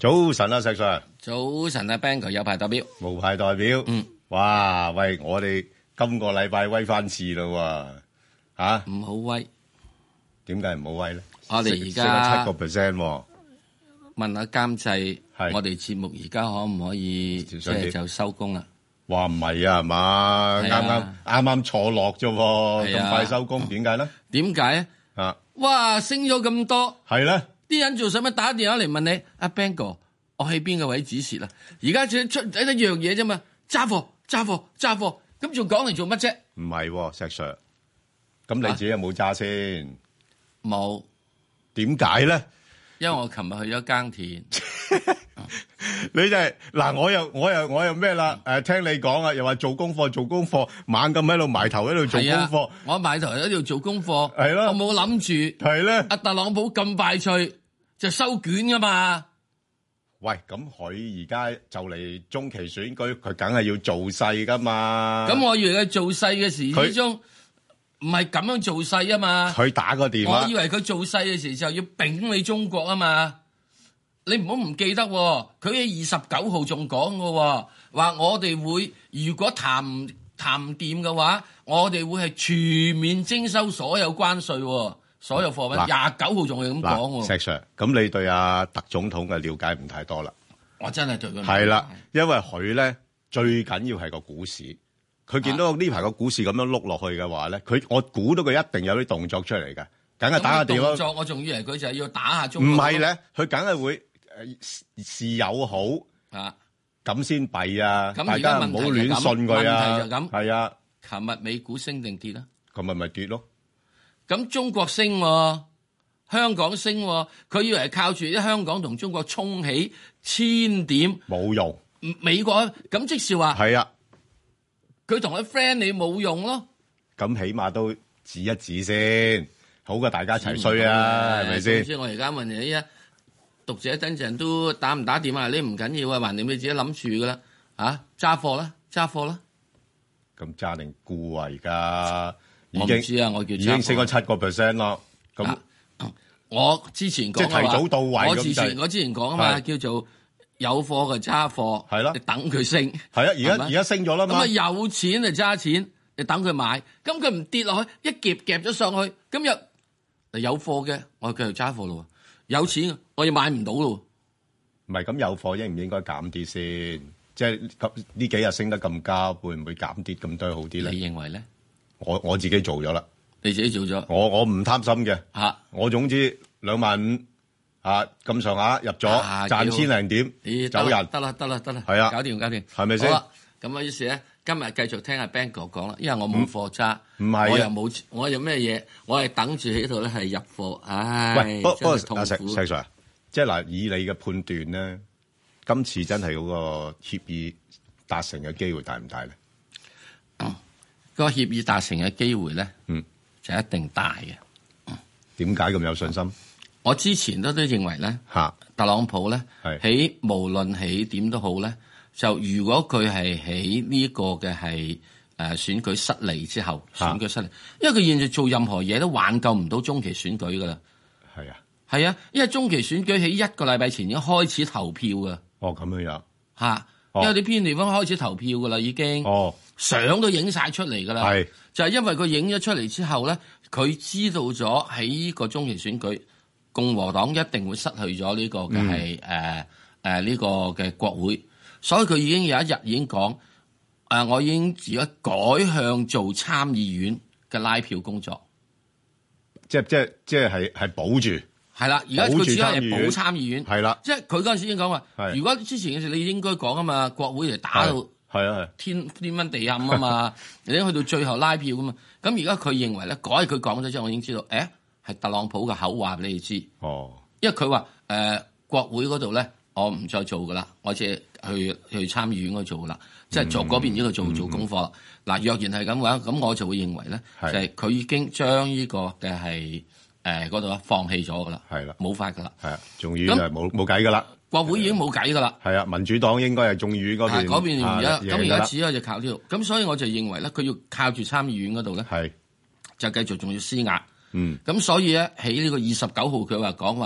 早晨啊，石 Sir。 早晨啊 ，Bang 哥有牌代表。 無牌代表。哇，喂，我哋今個禮拜威翻次咯喎， 唔好威。 點解唔好威咧？ 我哋而家升咗7%喎。 問下監製，我哋節目而家可唔可以即係就收工啦？ 話唔係啊，係嘛？啱坐落啫喎，咁快收工，點解咧？ 點解啊？ 哇，升咗咁多， 係咧， 啲人做使乜打電話嚟問你？阿 Bang 哥，我喺邊個位指示啦？而家只出一樣嘢啫嘛，揸貨，咁仲講嚟做乜啫？ 唔係喎，石 Sir，咁你自己有冇揸先？ 冇。 點解咧？ 因為我琴日去咗耕田。 你就係嗱，我又咩啦？聽你講啊，又話做功課，猛咁喺度埋頭喺度做功課。 我埋頭喺度做功課， 係咯， 我冇諗住係咧。 阿特朗普咁快脆就收卷噶嘛？ 喂，咁佢而家就嚟中期選舉，佢梗係要做勢噶嘛？ 咁我以為佢做勢嘅時之中唔係咁樣做勢啊嘛？ 佢打個電話， 我以為佢做勢嘅時就要丙你中國啊嘛？你唔好唔記得喎，佢喺29號仲講嘅喎，話我哋會如果談唔掂嘅話，我哋會係全面徵收所有關稅喎，所有貨品。29號仲係咁講喎。 石 Sir，咁你對阿特總統嘅了解唔太多啦。 我真係對佢係啦，因為佢咧最緊要係個股市，佢見到呢排個股市咁樣碌落去嘅話咧，我估到佢一定有啲動作出嚟嘅，梗係打下電話。 動作我仲以為佢就係要打下中國。 唔係咧，佢梗係會。事有好咁先弊啊！大家唔好亂信佢啊！ 問題就咁， 係啊！ 琴日美股升定跌啊？ 琴日咪跌咯。 咁中國升，香港升，佢以為係靠住啲香港同中國衝起1000點， 冇用。 美國咁即是話係啊， 佢同佢 friend 你冇用咯。 咁起碼都指一指先，好過大家一齊衰啊，係咪先？ 所以我而家問你啊！讀者等陣都打唔打電話？你唔緊要啊，橫掂你自己諗住噶啦，揸貨啦。 咁揸定沽啊？而家我唔知啊，我叫已經升咗7%咯。咁我之前講即係提早到位咁我之前講啊嘛，叫做有貨嘅揸貨，係咯，你等佢升。 係啊，而家升咗啦嘛。咁啊有錢就揸錢，你等佢買。咁佢唔跌落去，一夾咗上去，今日有貨嘅，我繼續揸貨咯。有錢我又買唔到咯， 唔係咁有貨應唔應該減啲先？即係呢幾日升得咁高，會唔會減啲咁多好啲咧？ 你認為咧？ 我自己做咗啦， 你自己做咗？ 我唔貪心嘅，我總之25000咁上下入咗，賺1000零點，走人得啦， 係啊， 搞掂， 係咪先？ 好啦，咁啊於是咧，今日繼續聽阿 Bang 哥講啦，因為我冇貨揸， 唔係我有咩嘢，我係等住喺度咧係入貨，唉， 喂，不過石 Sir， 即係嗱，以你嘅判斷咧，今次真係嗰個協議達成嘅機會大唔大咧？ 個協議達成嘅機會咧，就一定大嘅。 點解咁有信心？ 我之前都認為咧，特朗普咧喺無論喺點都好咧，就如果佢係喺呢個嘅係選舉失利之後，選舉失利，因為佢現在做任何嘢都挽救唔到中期選舉噶啦。係啊，因為中期選舉喺1個禮拜前已經開始投票噶。 哦，咁樣因為你偏地方開始投票噶啦，已經。相都影晒出嚟噶啦。就係因為佢影咗出嚟之後咧，佢知道咗喺呢個中期選舉，共和黨一定會失去咗呢個嘅係呢個嘅國會，所以佢已經有一日已經講我已經而家改向做參議院嘅拉票工作， 即係保住。係啦， 而家佢主要係保參議院。 係啦， 即係佢嗰陣時已經講話，如果之前嘅時你應該講啊嘛，國會嚟打到天昏地暗啊嘛，你去到最後拉票噶嘛，咁而家佢認為咧，佢講咗之後，我已經知道，係特朗普嘅口話俾你知。因為佢話國會嗰度咧，我唔再做噶啦，我只係去參議院嗰度做噶啦，即係做嗰邊呢個做功課。嗱，若然係咁嘅話，咁我就會認為咧，就係佢已經將呢個嘅係嗰度放棄咗噶啦，冇法噶啦， 眾議院就冇計噶啦。 國會已經冇計噶啦， 係啊，民主黨應該係眾議院嗰邊， 嗰邊而家只可以就靠呢度，咁所以我就認為咧，佢要靠住參議院嗰度咧，就繼續仲要施壓，咁所以咧喺呢個29號佢話講話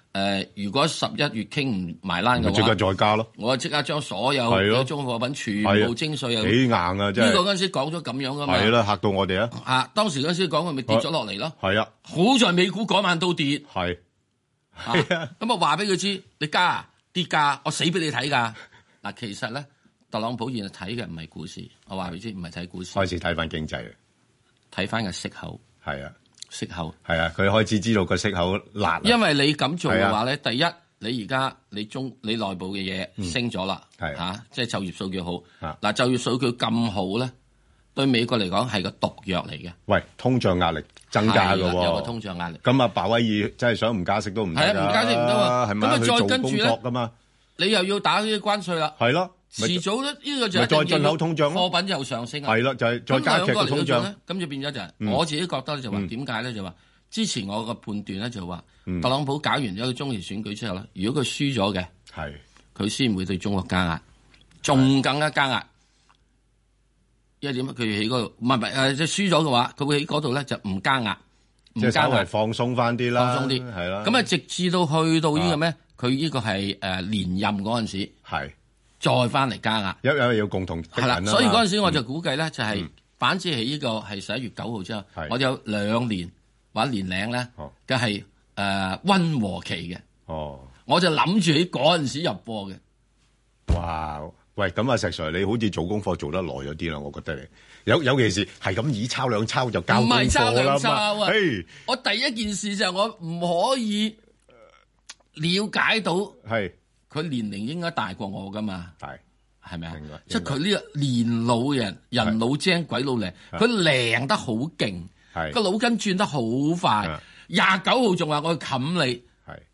如果11月傾唔埋欄嘅話， 即刻再加咯。 我即刻將所有嘅中國貨品全部徵稅啊！ 幾硬啊！真係呢個嗰陣時講咗咁樣噶嘛。 係啦，嚇到我哋啊！ 啊，當時嗰陣時講佢咪跌咗落嚟咯。 係啊， 好在美股嗰晚都跌。 係啊， 咁啊話俾佢知，你加跌價，我死俾你睇㗎。嗱，其實咧，特朗普現在睇嘅唔係股市，我話俾你知，唔係睇股市， 開始睇翻經濟， 睇翻個息口。 係啊。 息口係啊，佢開始知道個息口辣。 因為你咁做嘅話咧，第一，你而家你內部嘅嘢升咗啦，即係就業數據好。嗱，就業數據咁好咧，對美國嚟講係個毒藥嚟嘅。喂， 通脹壓力增加㗎喎， 有個通脹壓力。 咁啊，鮑威爾真係想唔加息都唔得㗎。係啊， 唔加息唔得喎。咁啊，再跟住咧， 你又要打呢啲關稅啦。係咯。遲早咧，呢個就係再進口通脹咯， 貨品又上升啊。 係啦，就係再加劇通脹。 咁就變咗就係我自己覺得咧，就話點解咧？就話之前我個判斷咧，就話特朗普搞完咗個中期選舉之後咧，如果佢輸咗嘅，係佢先會對中國加壓，仲更加加壓。因為點啊？佢喺嗰度唔係即係輸咗嘅話，佢會喺嗰度咧就唔加壓， 即係稍微放鬆翻啲啦， 放鬆啲係啦。 咁啊，直至到去到呢個咩？佢呢個係連任嗰陣時係。再翻嚟加壓， 有共同係啦，所以嗰陣時我就估計咧，就係反之係呢個係11月9號之後，我有2年或者年零咧嘅係溫和期嘅。哦，我就諗住喺嗰陣時入貨嘅。 哇！喂，咁啊，石 Sir，你好似做功課做得耐咗啲啦，我覺得你有其事係咁以抄兩抄就交功課啦嘛。唔係抄兩抄啊！我第一件事就係我唔可以了解到係。佢年齡應該大過我噶嘛？係咪啊？即係佢呢個年老人老精鬼老靈，佢靈得好勁，個腦筋轉得好快。29號仲話我冚你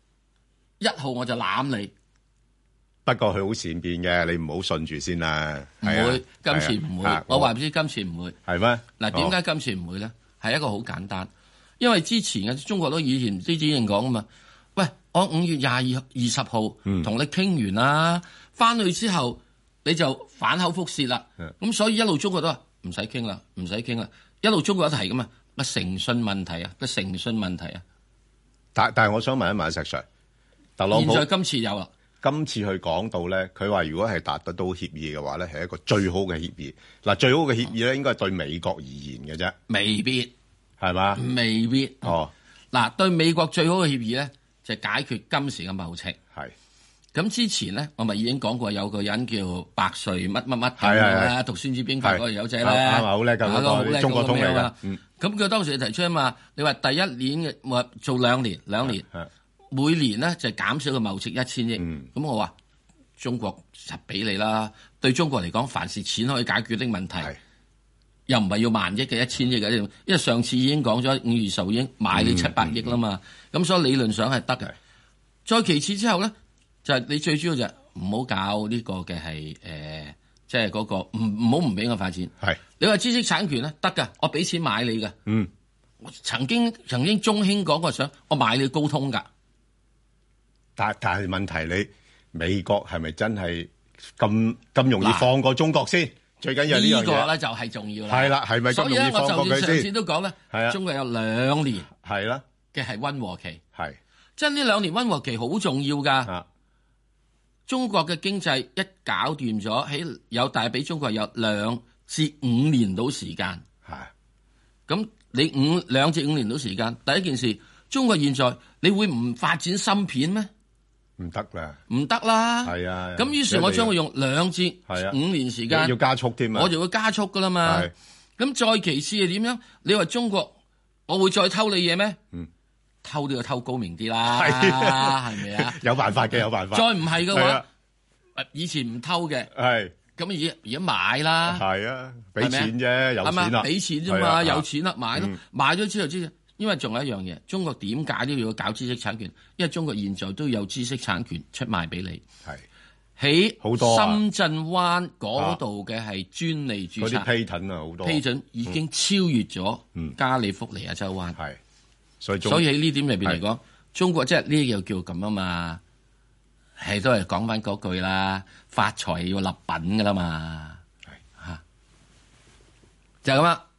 ，1號我就攬你。不過佢好善變嘅，你唔好信住先啦。唔會，今次唔會。我話唔知今次唔會。係咩？嗱，點解今次唔會咧？係一個好簡單，因為之前嘅中國都以前之前講啊嘛。喂，我5月20號同你傾完啦，翻去之後你就反口覆舌啦。咁所以一路中國都話唔使傾啦，唔使傾啦。一路中國都提噶嘛，個誠信問題啊，個誠信問題啊。但係我想問一問石 Sir，特朗普現在今次有啦，今次佢講到咧，佢話如果係達得到協議嘅話咧，係一個最好嘅協議。嗱，最好嘅協議咧，應該係對美國而言嘅啫，未必係嘛？未必哦。嗱，對美國最好嘅協議咧，就解決今時嘅貿赤。係咁之前咧，我咪已經講過有個人叫百歲乜乜乜嘅讀《孫子兵法》嗰個友仔咧，啱好叻㗎，好叻中國通嚟㗎。咁佢當時提出啊嘛，你話第一年嘅話做兩年，每年咧就減少個貿赤1000億。咁我話中國實俾你啦，對中國嚟講，凡是錢可以解決的問題，又唔係要萬億嘅1000億嘅，因為上次已經講咗5月10號已經買你700億啦嘛。咁所以理論上係得嘅。再其次之後咧，就係你最主要就唔好搞呢個嘅係即係嗰個唔好唔俾我發展。係你話知識產權咧得㗎，我俾錢買你㗎。曾經中興講過想我買你高通㗎。但係問題你美國係咪真係咁容易放過中國先？最緊要呢樣嘢呢個咧就係重要啦。係啦，係咪咁容易放過佢先？所以咧，我就上次都講咧，係啊，中國有2年係啦嘅係溫和期，係即係呢2年溫和期好重要㗎。中國嘅經濟一搞掂咗，有大俾中國有2至5年到時間。係咁，你2至5年到時間，第一件事，中國現在你會唔發展芯片咩？唔得啦，唔得啦，係啊。咁於是，我將會用2至5年時間，要加速添啊，我就會加速噶啦嘛。咁再其次係點樣？你話中國，我會再偷你嘢咩？偷都要偷高明啲啦，係咪啊？有辦法嘅，有辦法。再唔係嘅話，以前唔偷嘅，係咁而家買啦，係啊，俾錢啫，有錢啦，俾錢啫嘛，有錢啦，買咯，買咗之後之後。因為仲有一樣嘢，中國點解都要搞知識產權？因為中國現在都有知識產權出賣俾你，係喺深圳灣嗰度嘅係專利註冊，嗰啲 patent 啊好多 patent 已經超越咗加利福尼亞州灣，係所以喺呢點入邊嚟講，中國即係呢又叫咁啊嘛，係都係講翻嗰句啦，發財要立品噶啦嘛，係嚇就係咁啦。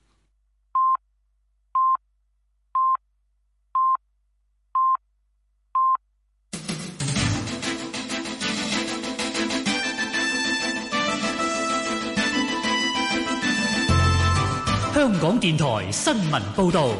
港電台新聞報道。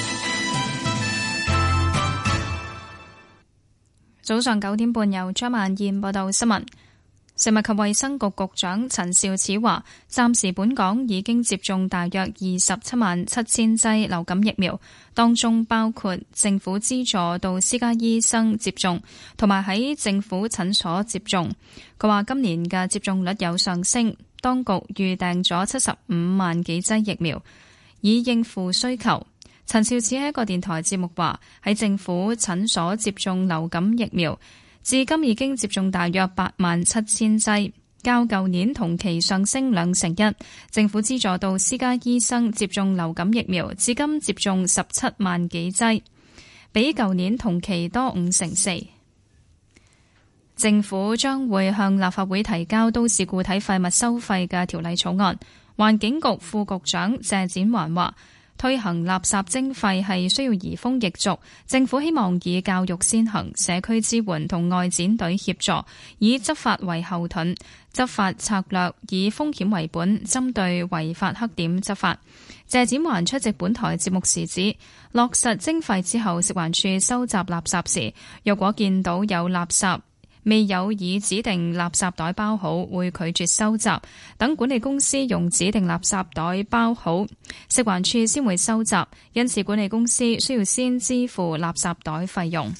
早上9點半，由張萬燕報道新聞。食物及衛生局局長陳肇始話，暫時本港已經接種大約277000劑流感疫苗，當中包括政府資助到私家醫生接種，同埋喺政府診所接種。佢話今年嘅接種率有上升，當局預訂咗75萬幾劑疫苗，以應付需求。陳肇始喺一個電台節目話，喺政府診所接種流感疫苗，至今已經接種大約87000劑，較舊年同期上升21%。政府資助到私家醫生接種流感疫苗，至今接種17萬幾劑，比舊年同期多54%。政府將會向立法會提交都市固體廢物收費嘅條例草案。環境局副局長謝展寰話，推行垃圾徵費係需要移風易俗，政府希望以教育先行，社區支援同外展隊協助，以執法為後盾，執法策略以風險為本，針對違法黑點執法。謝展寰出席本台節目時指，落實徵費之後，食環署收集垃圾時，若果見到有垃圾未有以指定垃圾袋包好，會拒絕收集。等管理公司用指定垃圾袋包好，食環署先會收集。因此，管理公司需要先支付垃圾袋費用。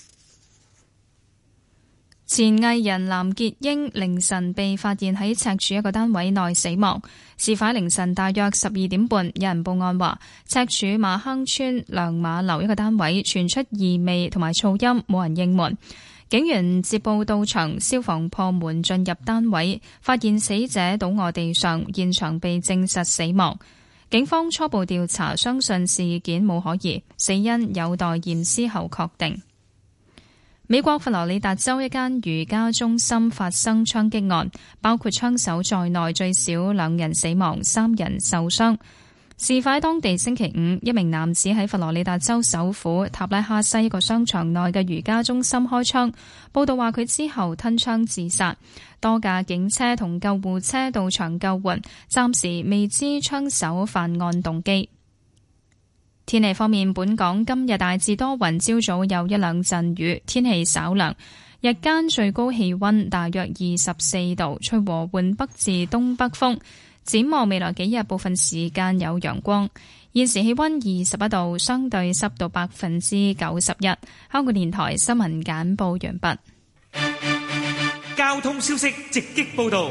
前藝人藍潔瑛凌晨被發現喺赤柱一個單位內死亡。事發凌晨大約12點半，有人報案話，赤柱馬坑村亮馬樓一個單位傳出異味同埋噪音，冇人應門。警員接報到場，消防破門進入單位，發現死者倒卧地上，現場被證實死亡。警方初步調查，相信事件冇可疑，死因有待驗屍後確定。美國佛羅里達州一間瑜伽中心發生槍擊案，包括槍手在內最少2人死亡，3人受傷。事發當地星期五，一名男子喺佛羅里達州首府塔拉哈西一個商場內嘅瑜伽中心開槍。報道話佢之後吞槍自殺。多架警車同救護車到場救援，暫時未知槍手犯案動機。天氣方面，本港今日大致多雲，朝早有一兩陣雨，天氣稍涼，日間最高氣溫大約24度，吹和緩北至東北風。展望未來幾日，部分時間有陽光。現時氣溫21度，相對濕度91%。香港電台新聞簡報完畢。 交通消息直擊報道。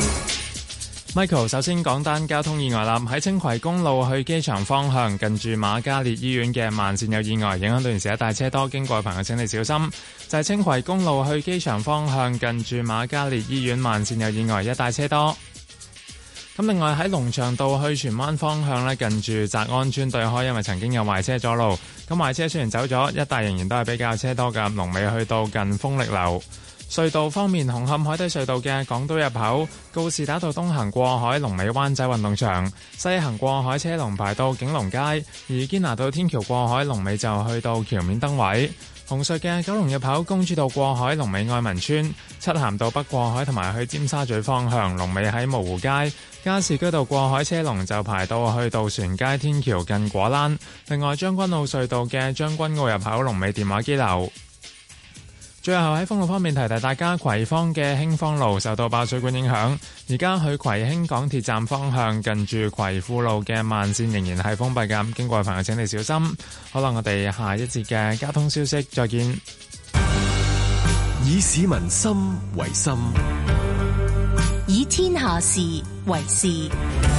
Michael 首先講單交通意外啦，喺青葵公路去機場方向，近住瑪嘉烈醫院嘅慢線有意外，影響到現時一帶車多，經過嘅朋友請你小心。就係青葵公路去機場方向，近住瑪嘉烈醫院慢線有意外，一帶車多。咁另外喺龍翔道去荃灣方向呢，近住澤安村對開，因為曾經有壞車阻路，咁壞車雖然走咗，一帶仍然都係比較車多㗎。龍尾去到近豐力樓。隧道方面，紅磡海底隧道嘅港島入口告士打道東行過海，龍尾灣仔運動場；西行過海車龍排到景隆街，而堅拿道天橋過海龍尾就去到橋面燈位。紅隧嘅九龍入口公主道過海龍尾愛民村，漆咸道北過海同埋去尖沙咀方向龍尾喺蕪湖街，加士居道過海車龍就排到去渡船街天橋近果欄。另外將軍澳隧道嘅將軍澳入口龍尾電話機樓。最後喺封路方面提提大家，葵芳嘅興芳路受到爆水管影響，而家去葵興港鐵站方向近住葵富路嘅慢線仍然係封閉㗎，經過嘅朋友請你小心。好啦，我哋下一節嘅交通消息再見。 以市民心為心， 以天下事為事。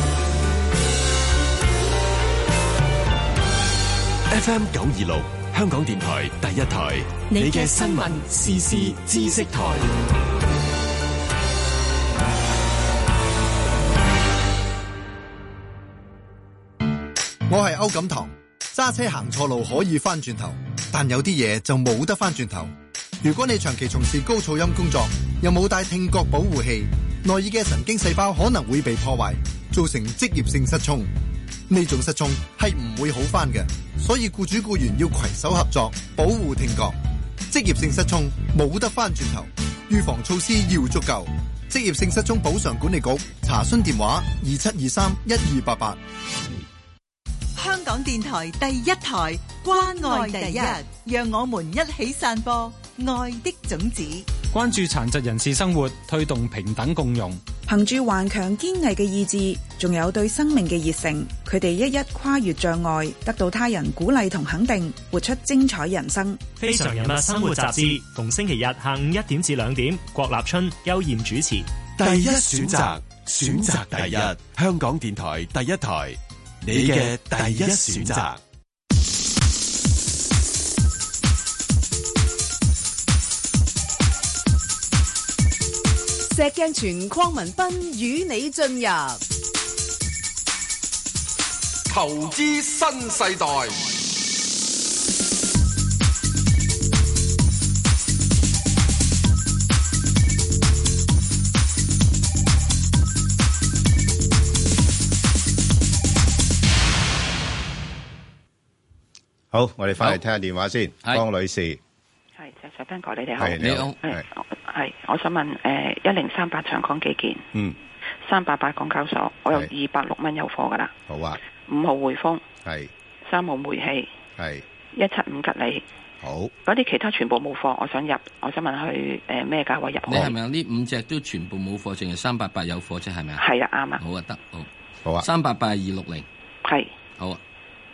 FM 926香港電台第一台，你嘅新聞時事知識台。 我係歐錦棠，揸車行錯路可以翻轉頭，但有啲嘢就冇得翻轉頭。如果你長期從事高噪音工作，又冇帶聽覺保護器，內耳嘅神經細胞可能會被破壞，造成職業性失聰。呢種失聰係唔會好返嘅，所以僱主僱員要攜手合作，保護聽覺。職業性失聰冇得返轉頭，預防措施要足夠。職業性失聰補償管理局查詢電話27231288。 港電台第一台，關愛第一，讓我們一起散播愛的種子。 關注殘疾人士生活，推動平等共融。 憑住頑強堅毅嘅意志，仲有對生命嘅熱誠，佢哋一一跨越障礙，得到他人鼓勵同肯定，活出精彩人生。 非常人物生活雜誌，逢星期日下午1點至2點，郭立春、邱艷主持。 第一選擇，選擇第一，香港電台第一台，你嘅第一選擇。 石鏡泉鄺民彬與你進入投資新世代。 好，我哋翻嚟聽下電話先，江女士。 係，石彬哥，你哋好。 係，你好。 係，我想問1038長江基建，388港交所，我有206蚊有貨噶啦。 好啊。 5號匯豐， 係。 3號煤氣， 係。 175吉利， 好。 嗰啲其他全部冇貨，我想入，我想問佢咩價位入？ 你係咪呢5隻都全部冇貨，淨係388有貨啫？係咪啊？ 係啊，啱啊。 好啊，得， 好啊。 388係260， 係。 好啊。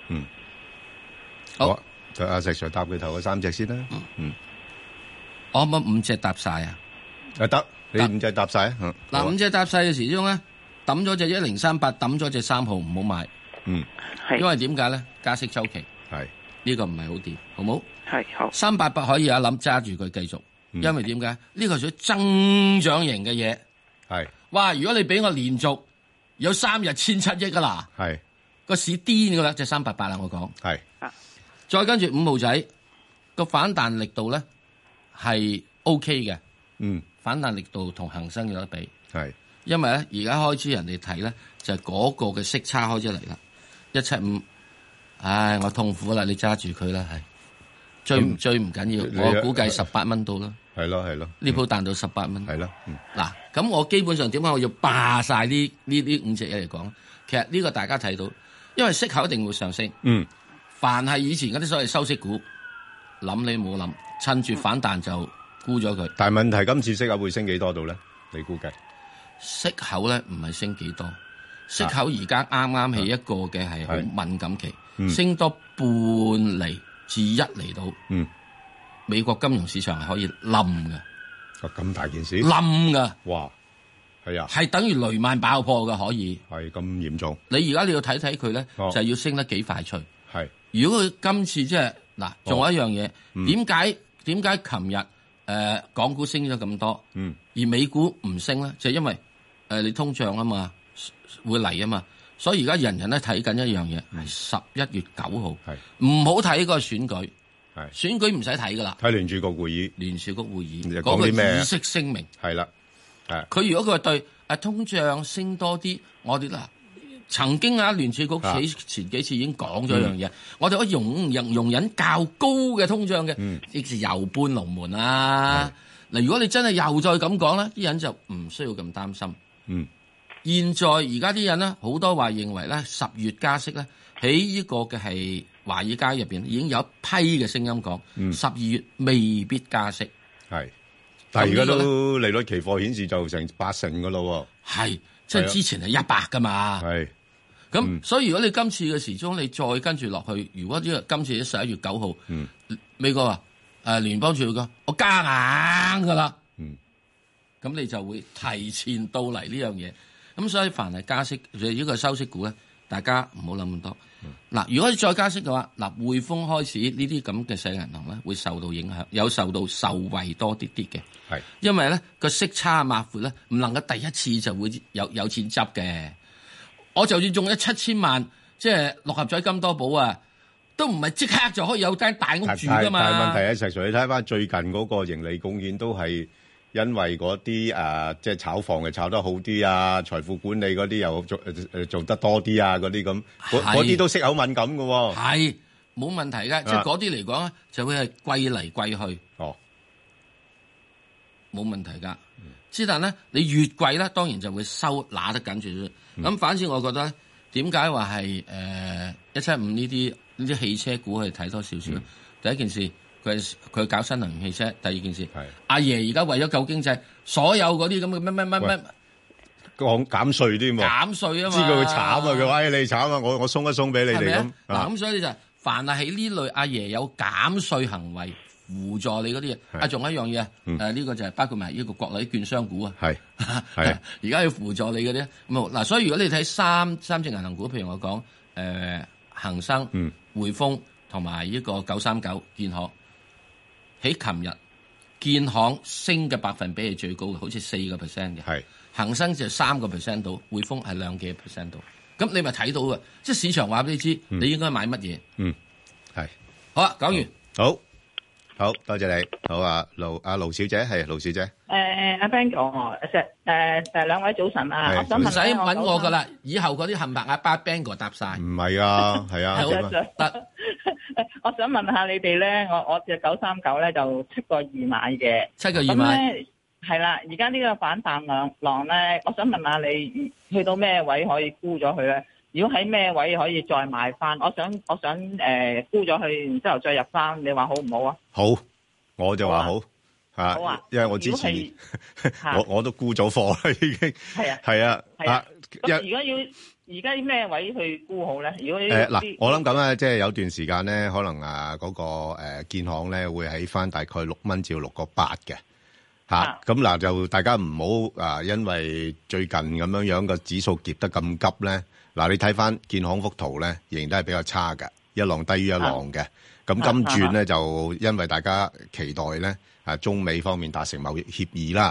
好。就阿石 Sir 搭佢頭嗰3隻先啦。 我可唔可以5隻搭晒啊？ 得，你5隻搭晒啊。 嗱，5隻搭晒嘅時鐘咧，抌咗隻1038，抌咗隻3號，唔好買。因為點解咧？加息周期係呢個唔係好掂，好冇？ 係好。 388可以有一諗揸住佢繼續，因為點解？呢個屬於增長型嘅嘢。 係。哇！ 如果你俾我連續有3日1700億噶啦， 係個市癲噶啦，隻388啦，我講係。 再跟住5號仔個反彈力度咧係 OK 嘅，反彈力度同恒生有得比， 係， 因為咧而家開始人哋睇咧就係嗰個嘅息差開始嚟啦，175，唉，我痛苦啦，你揸住佢啦，係追唔緊要，我估計18蚊到啦， 係咯， 呢鋪彈到18蚊， 係咯， 嗱，咁我基本上點解我要霸晒呢5隻嘢嚟講？其實呢個大家睇到，因為息口一定會上升，凡係以前嗰啲所謂收息股，諗你冇諗，趁住反彈就沽咗佢。 但係問題今次息口會升幾多度咧？你估計？ 息口咧唔係升幾多，息口而家啱啱係一個嘅係好敏感期，升多半厘至1厘到。美國金融市場係可以冧嘅。 咁大件事？ 冧㗎。 哇！係啊。係等於雷曼爆破嘅可以。 係咁嚴重。 你而家你要睇睇佢咧，就係要升得幾快脆。 係。如果佢今次即係嗱，仲有一樣嘢，點解琴日港股升咗咁多，而美股唔升咧？就係因為你通脹啊嘛，會嚟啊嘛，所以而家人人咧睇緊一樣嘢，係11月9號，唔好睇嗰個選舉，選舉唔使睇噶啦， 睇聯儲局會議， 聯儲局會議講啲咩議息聲明係啦， 佢如果佢對通脹升多啲，我哋嗱。曾經聯儲局前幾次已經講咗一樣嘢，我哋可以容忍較高嘅通脹嘅，即是又搬龍門啦。嗱，如果你真係又再咁講咧，啲人就唔需要咁擔心。現在而家啲人咧，好多話認為咧10月加息咧，喺呢個嘅係華爾街入邊已經有一批嘅聲音講，12月未必加息。係， 但係而家都利率期貨顯示就成80%噶咯喎。係， 即係之前係100噶嘛。係。咁所以如果你今次嘅時鐘你再跟住落去，如果今次11月9號，美國聯邦儲備局我加硬噶啦，咁你就會提前到嚟呢樣嘢。咁所以凡係加息，呢個收息股咧，大家唔好諗咁多。嗱，如果你再加息嘅話，匯豐開始呢啲咁嘅細銀行咧，會受到影響，有受惠多啲嘅。係，因為咧個息差抹闊咧，唔能夠第一次就會有錢執嘅。我就算中咗7000萬，即係6合彩金多寶啊，都唔係即刻就可以有間大屋住噶嘛。但係問題石 Sir， 你睇翻最近嗰個盈利貢獻都係因為嗰啲即係炒房嘅炒得好啲啊，財富管理嗰啲又做得多啲啊，嗰啲咁，嗰啲都息口敏感㗎喎。 係冇問題㗎，即係嗰啲嚟講咧，就會係貴嚟貴去。哦，冇問題㗎。之但咧，你越貴咧，當然就會拿得緊住。咁反正我覺得點解話係175呢啲汽車股係睇多少少？第一件事佢搞新能源汽車，第二件事阿爺而家為咗救經濟，所有嗰啲咁嘅乜講減稅添喎， 減稅啊嘛， 知道佢慘啊，佢話你慘啊，我鬆一鬆俾你哋咁。 嗱咁所以就凡係喺呢類阿爺有減稅行為輔助你嗰啲嘢，仲有一樣嘢，呢個就係包括埋呢個國內券商股啊，係而家要輔助你嗰啲咁嗱，所以如果你睇三隻銀行股，譬如我講恒生、匯豐同埋呢個939建行，喺琴日建行升嘅百分比係最高嘅，好似4%嘅，係恒生就3%到，匯豐係2%幾到，咁你咪睇到嘅，即係市場話俾你知，你應該買乜嘢， 係好啦，講完， 好多謝你，好啊，盧小姐係盧小姐， 阿 Ben 哥，兩位早晨啊，我想問， 唔使揾我噶啦，以後嗰啲冚唪唥阿巴 Ben 哥答晒， 唔係啊，係啊， 得，我想問下你哋咧，我隻939咧就7個2買嘅 ，7個2買， 係啦，而家呢個反彈浪咧，我想問下你去到咩位可以沽咗佢咧？如果喺咩位可以再買翻？我想沽咗佢，然之後再入翻，你話好唔好啊？ 好，我就話好嚇， 好啊， 因為我之前我都沽咗貨啦，已經係啊。 咁如果要而家咩位去沽好咧？如果嗱，我諗咁咧，即係有段時間咧，可能嗰個建行咧會喺翻大概6蚊至6個8嘅嚇。咁嗱就大家唔好因為最近咁樣個指數跌得咁急咧。嗱，你睇翻建行幅圖咧，仍然都係比較差嘅，一浪低於一浪嘅。咁今轉咧就因為大家期待咧，中美方面達成貿易協議啦。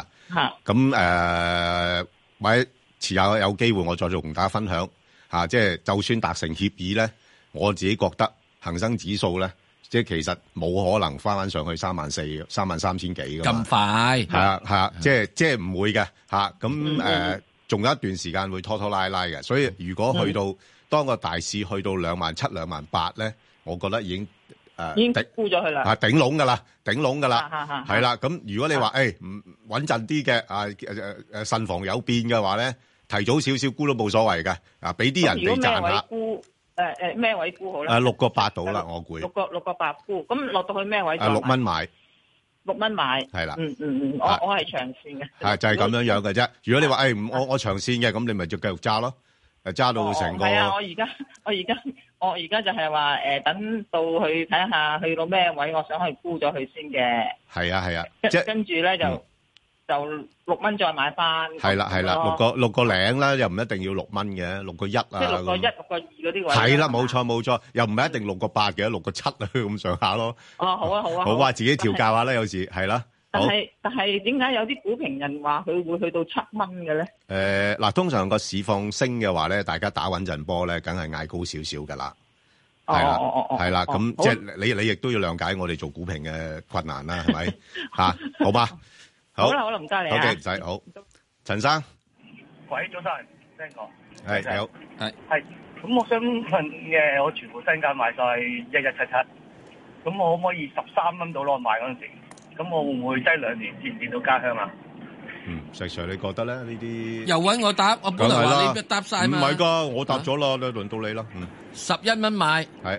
咁或者遲下有機會我再同大家分享即係就算達成協議咧，我自己覺得恒生指數咧，即係其實冇可能翻上去34,000、33,000幾㗎嘛。 咁快係啊，即係唔會嘅咁仲有一段時間會拖拖拉拉嘅，所以如果去到當個大市去到27,000、28,000咧，我覺得已經已經沽咗佢啦， 頂籠㗎啦，係啦。咁如果你話唔穩陣啲嘅慎防有變嘅話咧，提早少少沽都冇所謂嘅，俾啲人哋賺下。 咩位沽好咧 ？6個8到啦，我估。 6個8沽，咁落到去咩位 ？6蚊買。 6蚊買， 係啦， 我係長線嘅， 係就係咁樣嘅啫。如果你話我長線嘅，咁你咪就繼續揸咯，揸到成個。 係啊，我而家就係話等到去睇下去到咩位，我想去沽咗佢先嘅。 係啊， 跟住咧就6蚊再買翻。 係啦，6個零啦，又唔一定要6蚊嘅，6個1啊。 即係6個1、6個2嗰啲位。 係啦，冇錯，又唔係一定6個8嘅，6個7啊咁上下咯。 好啊。 好啊，自己調教下啦，有時係啦。 但係點解有啲股評人話佢會去到7蚊嘅咧？ 嗱，通常個市況升嘅話咧，大家打穩陣波咧，梗係嗌高少少噶啦。係啦，咁即係你亦都要諒解我哋做股評嘅困難啦，係咪嚇？好嘛？ 好啦，唔該你啊。 好嘅，唔使好。陳生， 喂，早晨，聽過。 係你好， 係。咁我想問我全部身家買晒1177，咁我可唔可以13蚊到攞買嗰陣時？咁我會唔會低2年見唔見到家鄉啊？ 石 Sir 你覺得咧呢啲？ 又揾我答，我本來話你答晒嘛。 唔係㗎，我答咗啦，輪到你啦。 11蚊買， 係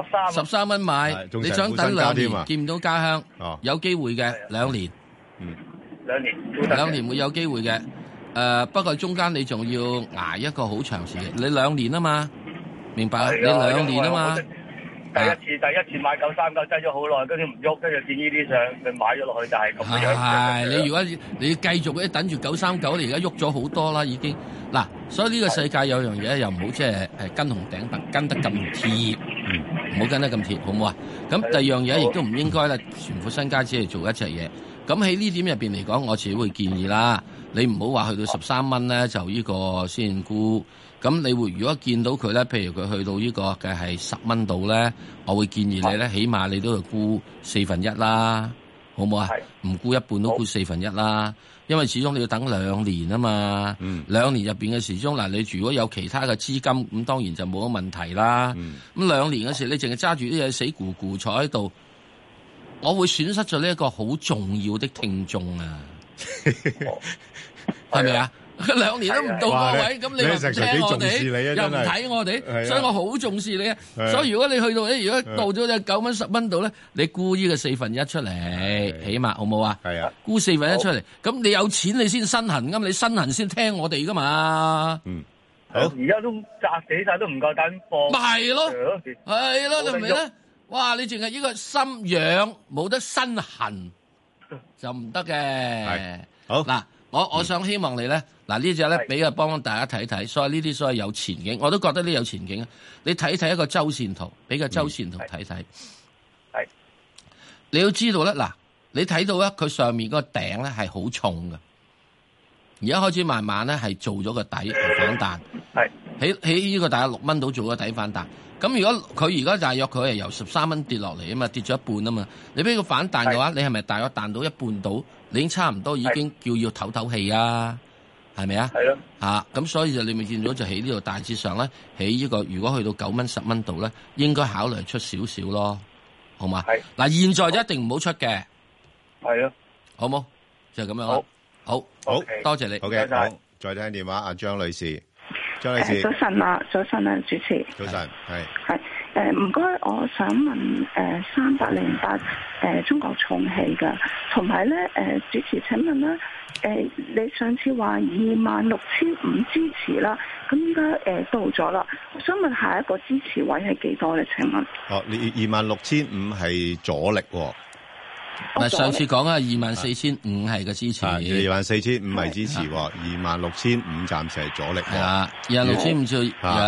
13 蚊買，你想等2年見唔到家鄉？有機會嘅2年。2年會有機會嘅。不過中間你仲要捱一個好長時間，你2年啊嘛，明白啊？你2年啊嘛。 第一次買939擠咗好耐，跟住唔喐，跟住見呢啲上，咪買咗落去就係咁樣。 係你如果你繼續等住939，你而家喐咗好多啦，已經嗱。所以呢個世界有樣嘢又唔好即係跟紅頂白跟得咁貼，唔好跟得咁貼，好唔好啊？咁第二樣嘢亦都唔應該啦，全副身家只係做一隻嘢。咁喺呢點入邊嚟講，我自己會建議啦，你唔好話去到13蚊咧就呢個先沽。咁你會如果見到佢咧，譬如佢去到呢個嘅係10蚊度咧，我會建議你咧，起碼你都要沽1/4啦，好唔好啊？唔沽一半都沽1/4啦，因為始終你要等2年啊嘛。2年入邊嘅時鐘嗱，你如果有其他嘅資金，咁當然就冇乜問題啦。咁2年嘅時，你淨係揸住啲嘢死咕咕坐喺度，我會損失咗呢一個好重要的聽眾啊，係咪啊？ 2年都唔到個位，咁你又唔聽我哋，又唔睇我哋，所以我好重視你啊！所以如果你去到咧，如果到咗隻9蚊10蚊度咧，你沽呢個1/4出嚟，起碼好冇啊？係啊，沽1/4出嚟，咁你有錢你先身痕，咁你身痕先聽我哋噶嘛？ 好，而家都砸死晒，都唔夠膽放。 咪係咯，係咯，你明唔明咧？哇！你淨係呢個心癢，冇得身痕就唔得嘅。係好嗱，我想希望你咧，嗱呢隻咧俾個幫大家睇睇，所以呢啲所謂有前景，我都覺得呢有前景啊！你睇睇一個周線圖，俾個周線圖睇睇。係，你要知道咧，嗱，你睇到咧，佢上面嗰個頂咧係好重嘅。而家開始慢慢咧係做咗個底反彈，喺呢個大約6蚊度做個底反彈。咁如果佢而家大約佢係由13蚊跌落嚟啊嘛，跌咗一半啊嘛，你俾佢反彈嘅話，你係咪大約彈到一半度？你已經差唔多已經叫要唞唞氣啊，係咪啊？係咯。嚇，咁所以就你咪見到就喺呢度大致上咧，喺呢個如果去到9蚊10蚊度咧，應該考慮出少少咯，好嘛？係。嗱，現在就一定唔好出嘅。係啊。好冇？就係咁樣咯。好，多謝你。 好嘅，好，再聽電話，阿張女士。張女士， 早晨啊，主持。 早晨， 係唔該，我想問3808中國重汽嘅，同埋咧主持請問啦，你上次話26,500支持啦，咁依家到咗啦，我想問下一個支持位係幾多咧？請問？ 哦，你26,500係阻力喎。 嗱，上次講啊，24,500係個支持 ，24,500係支持，26,500暫時係阻力。係啊，26,500就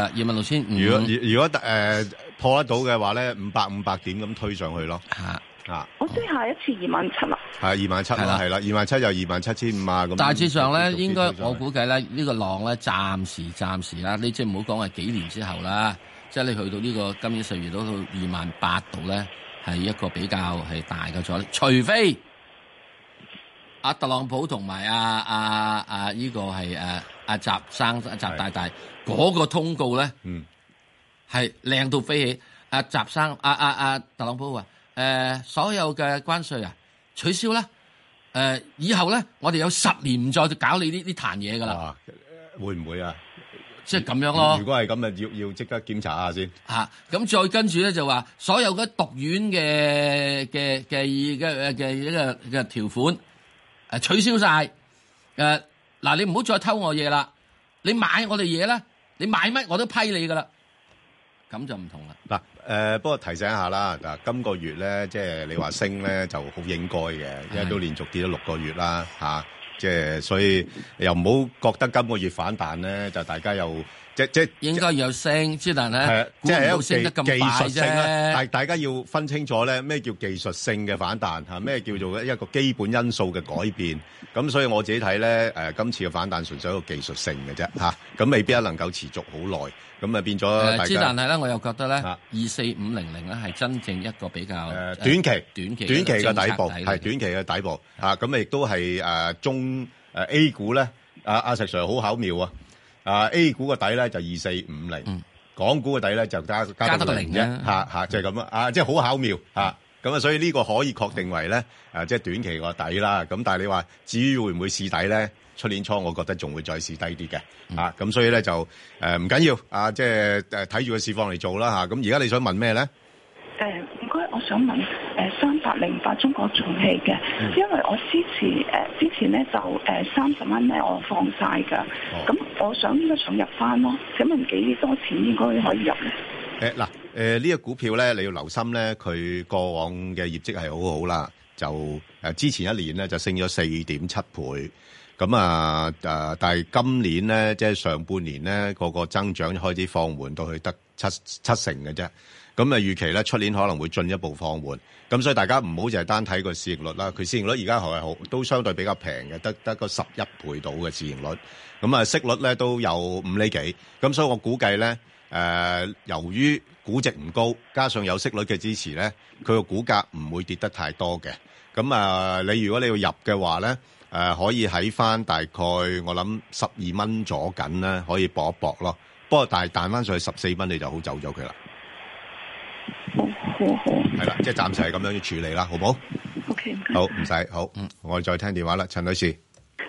26,500。 如果破得到嘅話咧，500點咁推上去咯。 我即係下一次27,000啦。係 27,000啦，係啦，27,000又27,500啊咁。 大致上咧，應該我估計咧，呢個浪咧暫時啦，你即係唔好講係幾年之後啦，即係你去到呢個今年4月到28,000度咧。係一個比較係大嘅阻力，除非阿特朗普同埋呢個係阿習大大嗰個通告咧，係靚到飛起。阿習生阿特朗普話所有嘅關稅啊取消啦，以後咧我哋有10年唔再搞你呢壇嘢噶啦， 會唔會啊？ 即係咁樣咯。 如果係咁啊，要即刻檢查下先。 咁再跟住咧就話，所有嘅毒丸嘅一個條款取消晒。嗱，你唔好再偷我嘢啦。你買我哋嘢咧，你買乜我都批你噶啦。咁就唔同啦。 嗱，不過提醒一下啦，嗱，今個月咧，即係你話升咧就好應該嘅，因為都連續跌咗6個月啦，即係所以又唔好覺得今個月反彈咧，就大家又即應該有升，之但咧即係一個升得咁快啫。 但大家要分清楚咧，咩叫技術性嘅反彈嚇，咩叫做一個基本因素嘅改變。咁所以我自己睇咧，今次嘅反彈純粹一個技術性嘅啫嚇，咁未必能夠持續好耐。咁啊變咗之但係咧，我又覺得咧，24500咧係真正一個比較短期嘅底部，係短期嘅底部嚇。咁亦都係中A 股咧，阿石 Sir 好巧妙啊！A 股個底咧就2450，港股個底咧就加多個0啫嚇，就係咁啊！即係好巧妙嚇。咁啊，所以呢個可以確定為咧即係短期個底啦。咁但係你話至於會唔會試底咧？出年初我覺得仲會再試低啲嘅咁所以咧就唔緊要即係睇住個市況嚟做啦嚇。咁而家你想問咩咧？ 唔該，我想問3808中國重汽嘅，因為我之前咧就30蚊咧我放晒㗎，咁我想入翻咯。請問幾多錢應該可以入咧？ 呢個股票咧你要留心咧，佢過往嘅業績係好好啦，就之前一年咧就升咗4.7倍。咁但係今年咧，即係上半年咧，個增長開始放緩到去得七成嘅啫。咁預期咧，出年可能會進一步放緩。咁所以大家唔好淨係單睇個市盈率啦。佢市盈率而家係好，都相對比較平嘅，得個11倍到嘅市盈率。咁息率咧都有5厘幾。咁所以我估計咧，由於估值唔高，加上有息率嘅支持咧，佢個股價唔會跌得太多嘅。咁你如果你要入嘅話咧，可以喺翻大概我諗12蚊左緊咧，可以搏一搏咯。不過但係彈翻上去14蚊，你就好走咗佢啦。 好。 係啦，即係暫時係咁樣要處理啦，好唔好 ？OK， 好唔使好。我哋再聽電話啦，陳女士。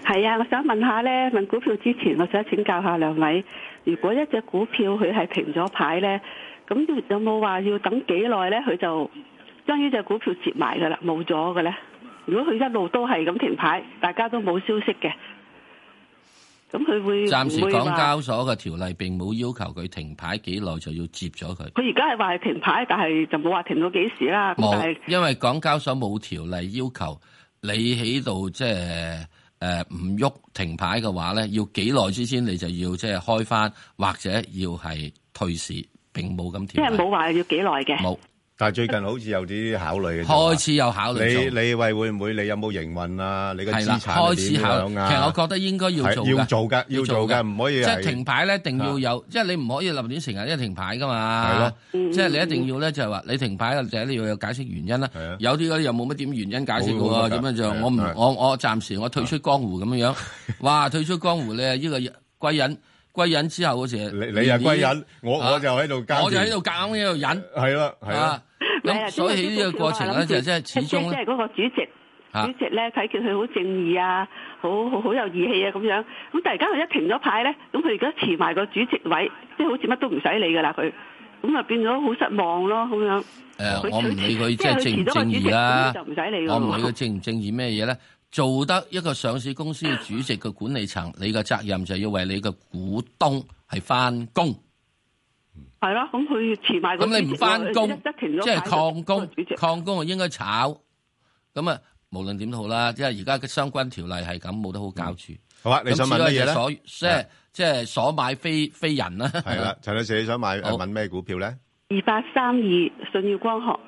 係啊，我想問下咧，問股票之前，我想請教下兩位，如果一隻股票佢係停咗牌咧，咁有冇話要等幾耐咧？佢就將呢隻股票接埋噶啦，冇咗嘅咧。如果佢一路都係咁停牌，大家都冇消息嘅，咁佢會暫時港交所嘅條例並冇要求佢停牌幾耐就要接咗佢。 佢而家係話係停牌，但係就冇話停到幾時啦。 冇，因為港交所冇條例要求你喺度即係唔喐停牌嘅話咧，要幾耐之前你就要即係開翻，或者要係退市，並冇咁條例。 即係冇話要幾耐嘅。 冇。 但係最近好似有啲考慮嘅， 開始有考慮。 你會唔會你有冇營運啊？你嘅資產開始考慮啊？其實我覺得應該要做㗎， 要做㗎，唔可以即係停牌咧，一定要有，即係你唔可以立亂成日一停牌㗎嘛。 係咯， 即係你一定要咧，就係話你停牌嘅就係你要有解釋原因啦。有啲嗰啲又冇乜點原因解釋嘅喎，咁樣就我暫時我退出江湖咁樣樣。哇，退出江湖咧，呢個歸隱之後嗰時， 你又歸隱，我就喺度我就喺度夾硬喺度忍。 係啦，係啦。 咁所以喺呢個過程咧，就即係始終即係嗰個主席咧，睇見佢好正義啊，好有義氣啊咁樣。咁突然間佢一停咗牌咧，咁佢而家辭埋個主席位，即係好似乜都唔使理噶啦佢。咁啊變咗好失望咯，咁樣。 我唔理佢即係正唔正義啦，我唔理佢正唔正義咩嘢咧。做得一個上市公司嘅主席嘅管理層，你嘅責任就要為你嘅股東係翻工。 係咯，咁佢辭埋個主席， 咁你唔翻工，即係曠工，應該炒。咁啊，無論點都好啦，即係而家嘅相關條例係咁，冇得好搞住。 好啊，你想問乜嘢咧？ 即係所買非人啦。 係啦，陳女士你想問咩股票咧 ？2832舜宇光學。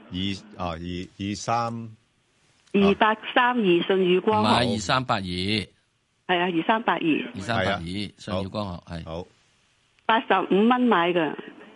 23。 2832舜宇光學。 唔係2382。 係啊，2382。 2382舜宇光學係。 好。 85蚊買㗎。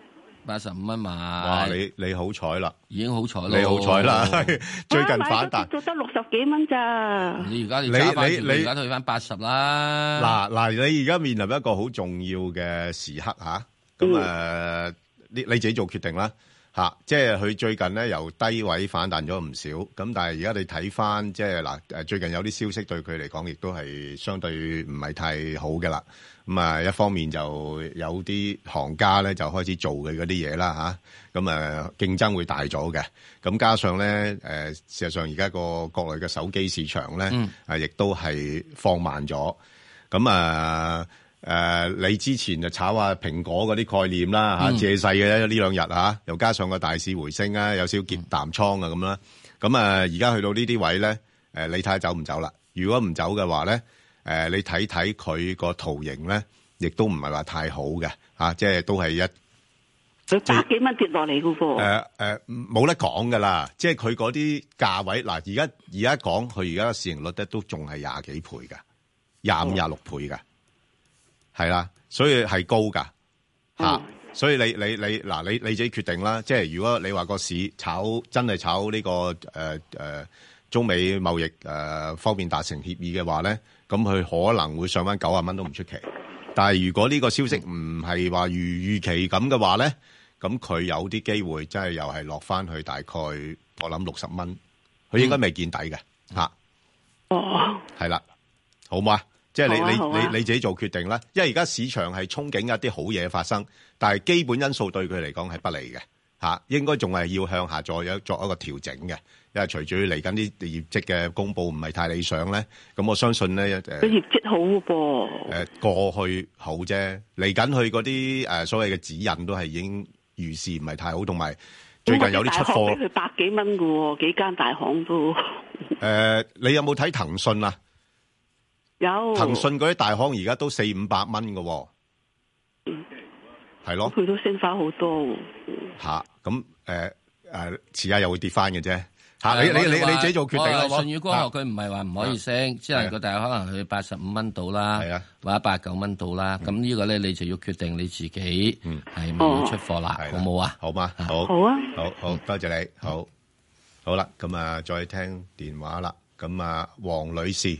85蚊買。 哇！你好彩啦， 已經好彩啦。 你好彩啦，最近反彈。 做得60幾蚊咋？ 你而家你揸翻而家退翻80啦。 嗱，你而家面臨一個好重要嘅時刻嚇，咁你自己做決定啦。嚇，即係佢最近咧由低位反彈咗唔少，咁但係而家你睇翻即係嗱最近有啲消息對佢嚟講亦都係相對唔係太好嘅啦。咁啊，一方面就有啲行家咧就開始做嘅嗰啲嘢啦嚇，咁競爭會大咗嘅。咁加上咧事實上而家個國內嘅手機市場咧亦都係放慢咗。咁你之前就炒下蘋果嗰啲概念啦嚇，借勢嘅呢兩日嚇，又加上個大市回升啊，有少少結淡倉啊咁啦。咁而家去到呢啲位咧，你睇下走唔走啦？如果唔走嘅話咧，你睇睇佢個圖形咧，亦都唔係話太好嘅嚇，即係都係佢百幾蚊跌落嚟嘅噃。 冇得講㗎啦，即係佢嗰啲價位嗱，而家講佢而家市盈率咧都仲係廿幾倍㗎，25、26倍㗎。係啦，所以係高噶吓，所以你自己決定啦。即係如果你話個市真係炒呢個中美貿易方面達成協議嘅話咧，咁佢可能會上翻90蚊都唔出奇。但係如果呢個消息唔係話如預期咁嘅話咧，咁佢有啲機會真係又係落翻去大概我諗60蚊，佢應該未見底嘅吓。 哦， 係啦，好唔好啊？即係你自己做決定啦，因為而家市場係憧憬一啲好嘢發生，但係基本因素對佢嚟講係不利嘅嚇，應該仲係要向下作一個調整嘅，因為隨住嚟緊啲業績嘅公佈唔係太理想咧，咁我相信咧佢業績好噃， 過去好啫，嚟緊佢嗰啲所謂嘅指引都係已經預示唔係太好，同埋最近有啲出貨， 佢百幾蚊嘅喎，幾間大行都你有冇睇騰訊啊？ 有騰訊嗰啲大行而家都400-500蚊嘅，係咯， 佢都升翻好多吓，咁遲下又會跌翻嘅啫吓，你自己做決定啦。 舜宇光學佢唔係話唔可以升，只能夠大可能去85蚊到啦，或者89蚊到啦。咁呢個咧你就要決定你自己係咪要出貨啦，好冇啊？ 好嘛，好啊， 好多謝你，好啦，咁再聽電話啦，咁黃女士。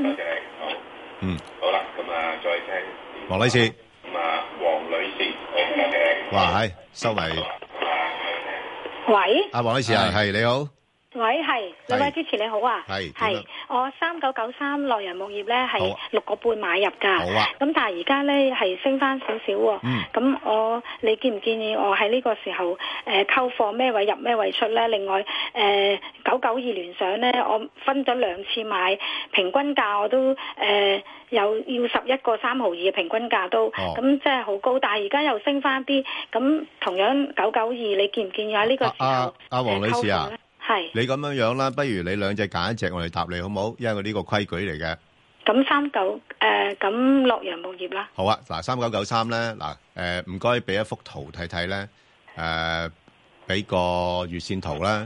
好啦，再聽黃女士。 黃女士， 哇，係收埋。 喂。 黃女士係你好。 喂，係兩位主持你好啊，係我3993洛陽木業咧係6個半買入噶，咁但係而家咧係升翻少少喎，咁你建唔建議我喺呢個時候溝貨咩位入咩位出咧？另外992聯想咧，我分咗2次買，平均價我都有要11個3毫2嘅平均價都，咁即係好高，但係而家又升翻啲，咁同樣992，你建唔建議喺呢個時候阿黃女士啊？ 係你咁樣啦，不如你兩隻揀一隻，我哋答你好唔好？因為我呢個規矩嚟嘅。 咁咁洛陽木業啦。好啊， 嗱3993咧，唔該俾一幅圖睇睇咧，俾個月線圖啦，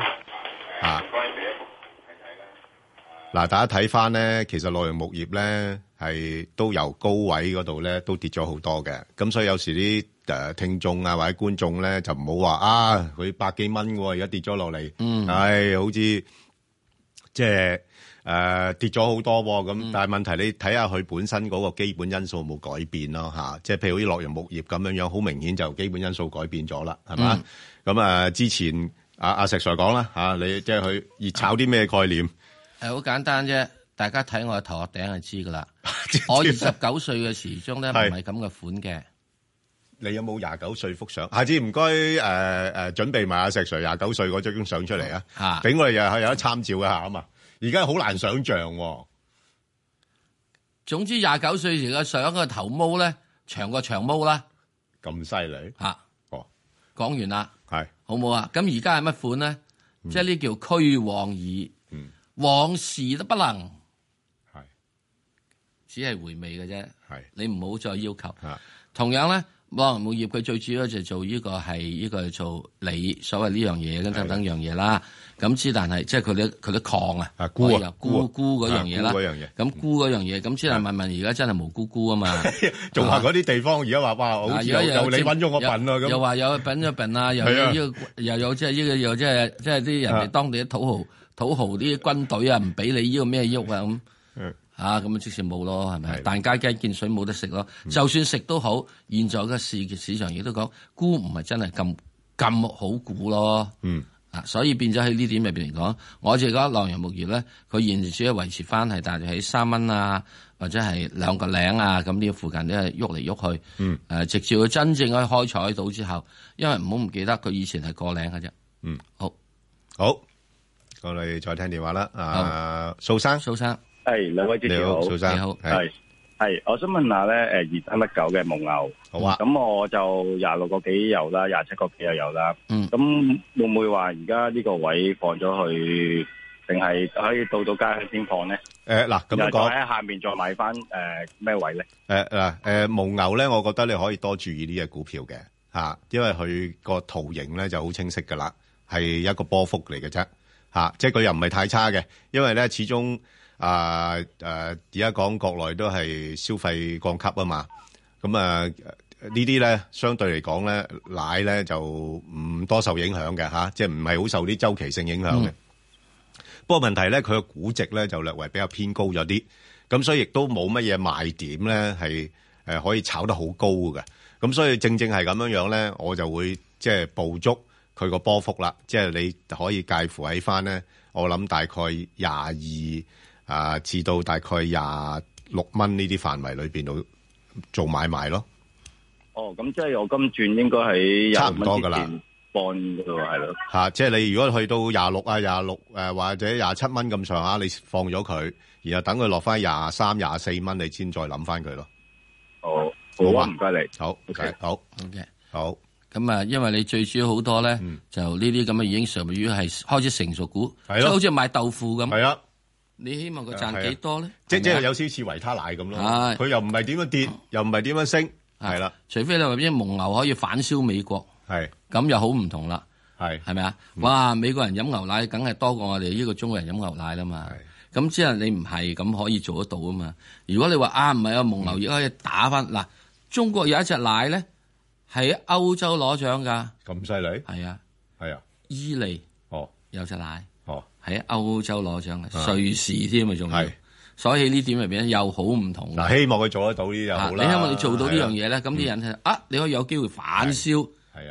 嗱，大家睇翻咧，其實洛陽木業咧係都由高位嗰度咧都跌咗好多嘅，咁所以有時啲聽眾啊或者觀眾咧就唔好話佢百幾蚊喎，而家跌咗落嚟，好似即係跌咗好多喎，咁但係問題你睇下佢本身嗰個基本因素冇改變咯嚇，即係譬如好似洛陽木業咁樣，好明顯就基本因素改變咗啦，係嘛？咁之前阿石 Sir 講啦嚇，你即係佢熱炒啲咩概念？ 好簡單啫，大家睇我嘅頭殼頂就知噶啦。我29歲嘅時鐘咧，唔係咁嘅款嘅。 你有冇29歲幅相？下次唔該準備埋阿石 Sir 29歲嗰張相出嚟啊！俾我哋又有得參照一下啊嘛。而家好難想像喎。 總之29歲時嘅相嘅頭毛咧，長過長毛啦。 咁犀利嚇！講完啦， 係好冇啊？咁而家係乜款咧？即係呢叫趨往矣。往事都不能，係只係回味嘅啫。係你唔好再要求。同樣咧，洛陽木業佢最主要就做呢個係呢個做鋰所謂呢樣嘢等等樣嘢啦。咁之但係即係佢啲礦啊，鈷嗰樣嘢啦。咁鈷嗰樣嘢，咁之但問而家真係無鈷啊嘛。 仲話嗰啲地方而家話哇，好似有你揾咗我笨咯咁。 又話有品咗笨啊，又有呢個又有即係呢個又即係啲人哋當地啲土豪啲軍隊啊，唔俾你呢個咩喐啊咁，咁即時冇咯，係咪？但街見水冇得食咯。就算食都好，現在嘅市場亦都講鈷唔係真係咁好估咯。所以變咗喺呢點入邊嚟講，我就覺得洛陽木業咧，佢現時只係維持翻係大約喺3蚊啊，或者係2個零啊，咁呢個附近都係喐嚟喐去。直至佢真正可以開採到之後，因為唔好唔記得佢以前係個零嘅啫。 好。我哋再聽電話啦，蘇生， 係兩位主持好， 蘇生你好，係，我想問下咧，2319嘅蒙牛， 好啊， 咁我就26個幾有啦，27個幾又有啦，咁會唔會話而家呢個位放咗去，定係可以到家先放咧？ 嗱，咁樣講喺下面再買翻咩位咧？ 蒙牛咧，我覺得你可以多注意呢隻股票嘅嚇，因為佢個圖形咧就好清晰噶啦，係一個波幅嚟嘅啫。即係佢又唔係太差嘅，因為咧始終而家講國內都係消費降級啊嘛，咁呢啲咧相對嚟講咧奶咧就唔多受影響嘅即係唔係好受啲周期性影響嘅。不過問題咧佢個估值咧就略為比較偏高咗啲，咁所以亦都冇乜嘢賣點咧係可以炒得好高嘅，咁所以正係咁樣咧，我就會即係捕捉佢個波幅啦，即係你可以介乎喺翻咧，我諗大概22至到大概26蚊呢啲範圍裏邊度做買賣咯。 咁即係我今轉應該喺差唔多噶啦， 半嗰度係咯。 即係你如果去到26啊、26或者27蚊咁上下，你放咗佢，然後等佢落翻23、24蚊，你先再諗翻佢咯。 好啊，唔該你。 好 ，OK， 好 ，OK， 好。 咁啊，因為你最主要好多咧，就呢啲咁嘅已經屬於係開始成熟股，即係好似賣豆腐咁。 係啊， 你希望佢賺幾多咧？ 即係有少少似維他奶咁咯。佢又唔係點樣跌，又唔係點樣升，係啦。 除非你話啲蒙牛可以反銷美國， 係咁又好唔同啦。 係咪啊？哇！美國人飲牛奶梗係多過我哋呢個中國人飲牛奶啦嘛。咁即係你唔係咁可以做得到啊嘛。如果你話唔係啊，蒙牛亦可以打翻嗱，中國有一隻奶咧。喺歐洲攞獎噶， 咁犀利？ 係啊， 伊利有隻奶喺歐洲攞獎嘅，瑞士添啊，仲係，所以呢點入邊又好唔同。 嗱，希望佢做得到呢啲就好啦。 你希望你做到呢樣嘢咧，咁啲人你可以有機會反銷，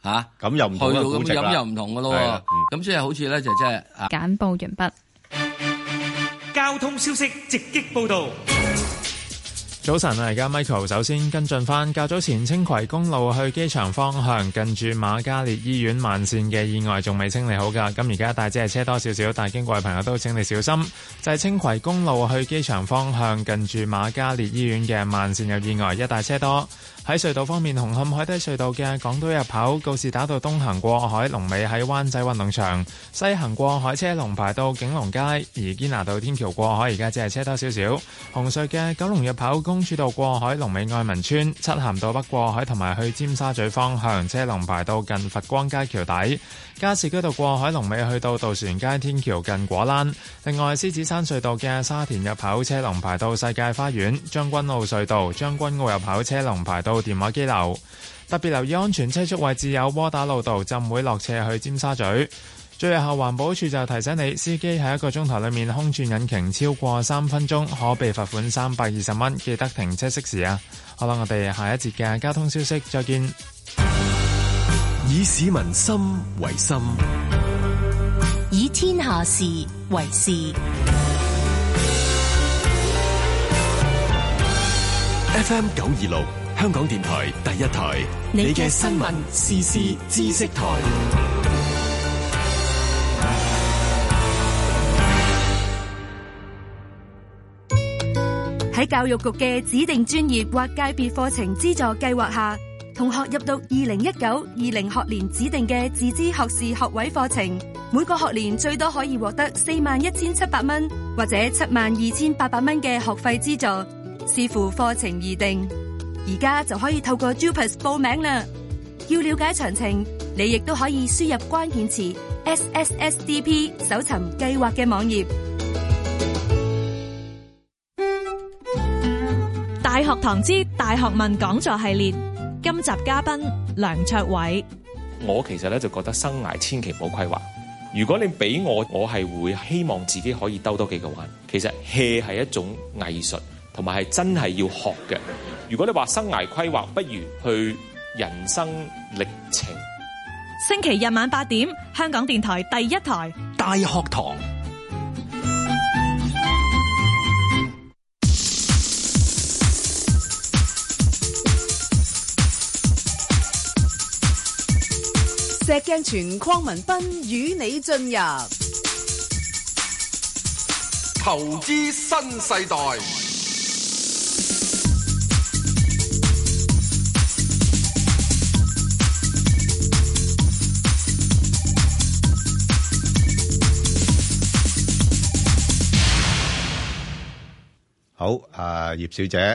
嚇， 咁又唔同啦， 去到咁飲又唔同噶咯喎。咁即係好似咧就即係簡報完畢。 交通消息直擊報導。 早晨啊，而家 Michael 首先跟進翻，較早前青葵公路去機場方向近住瑪嘉烈醫院慢線嘅意外仲未清理好㗎，咁而家大致係車多少少，但係經過嘅朋友都請你小心。就係青葵公路去機場方向近住瑪嘉烈醫院嘅慢線有意外，一帶車多。喺隧道方面，紅磡海底隧道嘅港島入口告士打道東行過海龍尾喺灣仔運動場，西行過海車龍排到景隆街，而堅拿道天橋過海而家只係車多少少。紅隧嘅九龍入口公主道過海龍尾愛民村，漆咸道北過海同埋去尖沙咀方向車龍排到近佛光街橋底，加士居道過海龍尾去到渡船街天橋近果欄。另外，獅子山隧道嘅沙田入口車龍排到世界花園，將軍澳隧道將軍澳入口車龍排到電話機樓。特別留意安全車速位置有窩打老道浸會落斜去尖沙咀。最後環保署就提醒你，司機喺1個鐘頭裏面空轉引擎超過3分鐘，可被罰款320蚊，記得停車熄匙啊！好啦，我哋下一節嘅交通消息再見。 以市民心為心， 以天下事為事。 FM 926香港電台第一台，你嘅新聞時事知識台。 喺教育局嘅指定專業或界別課程資助計劃下，同學入讀2019-20學年指定嘅自資學士學位課程，每個學年最多可以獲得41,700蚊或者72,800蚊嘅學費資助，視乎課程而定。而家就可以透過 JUPAS 報名啦。要了解詳情，你亦都可以輸入關鍵詞 SSSDP 搜尋計劃嘅網頁。 大學堂之大學問講座系列，今集嘉賓梁卓偉。 我其實咧就覺得生涯千祈唔好規劃。如果你俾我係會希望自己可以兜多幾個彎。其實 hea 係一種藝術，同埋係真係要學嘅。如果你話生涯規劃，不如去人生歷程。 星期日晚8點，香港電台第一台大學堂。 石鏡泉鄺民彬與你進入投資新世代。 好，葉小姐，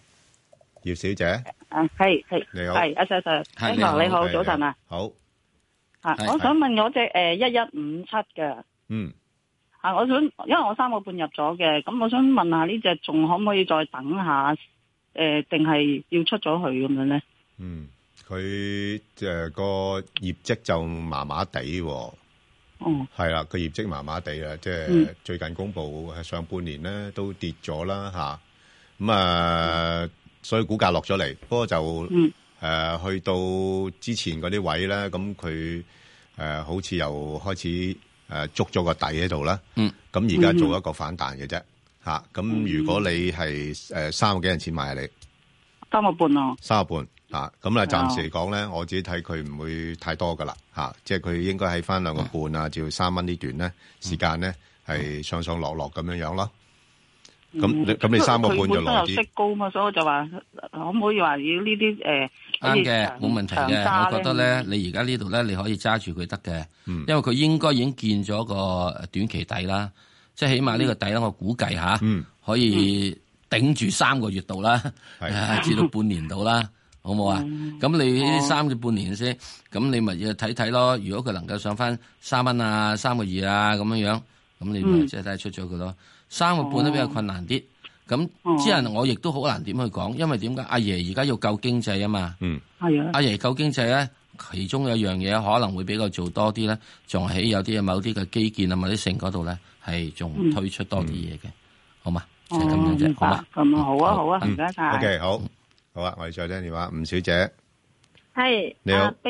係， 你好， 係阿 Sir， 你好，早晨啊， 好， 我想問嗰隻1157嘅，我想因為我3個半入咗嘅，咁我想問下呢隻仲可唔可以再等下，定係要出咗去咁樣咧？ 佢個業績就麻麻地喎。係啦，個業績麻麻地啊，即係最近公布上半年咧都跌咗啦嚇，咁所以股價落咗嚟，不過就去到之前嗰啲位咧，咁佢好似又開始捉咗個底喺度啦，咁而家做一個反彈嘅啫嚇，咁如果你係3個幾銀錢買你 3個半咯 ，3個半。咁啊，暫時嚟講咧，我自己睇佢唔會太多噶啦，即係佢應該喺翻2個半啊，至到3蚊呢段咧時間咧係上上落落咁樣樣咯。咁你3個半就耐啲。佢本身又息高嘛，所以我就話可唔可以話要呢啲啱嘅，冇問題嘅。我覺得咧，你而家呢度咧，你可以揸住佢得嘅，因為佢應該已經見咗個短期底啦，即係起碼呢個底咧，我估計下可以頂住3個月度啦，至到半年度啦。好冇啊？咁你呢3至半年先，咁你咪要睇睇咯。如果佢能夠上翻3蚊啊、3個2啊咁樣樣，咁你咪即係睇出咗佢咯。3個半都比較困難啲。咁之後我亦都好難點去講，因為點解阿爺而家要救經濟啊嘛。係啊。阿爺救經濟咧，其中有一樣嘢可能會比較做多啲咧，仲喺有啲某啲嘅基建啊、某啲城嗰度咧，係仲推出多啲嘢嘅，好嘛？就係咁樣啫，好嘛？ 咁好啊，好啊，唔該晒。 OK， 好。好啊，我哋再聽電話，吳小姐。 係， 你好， 邊個？ 你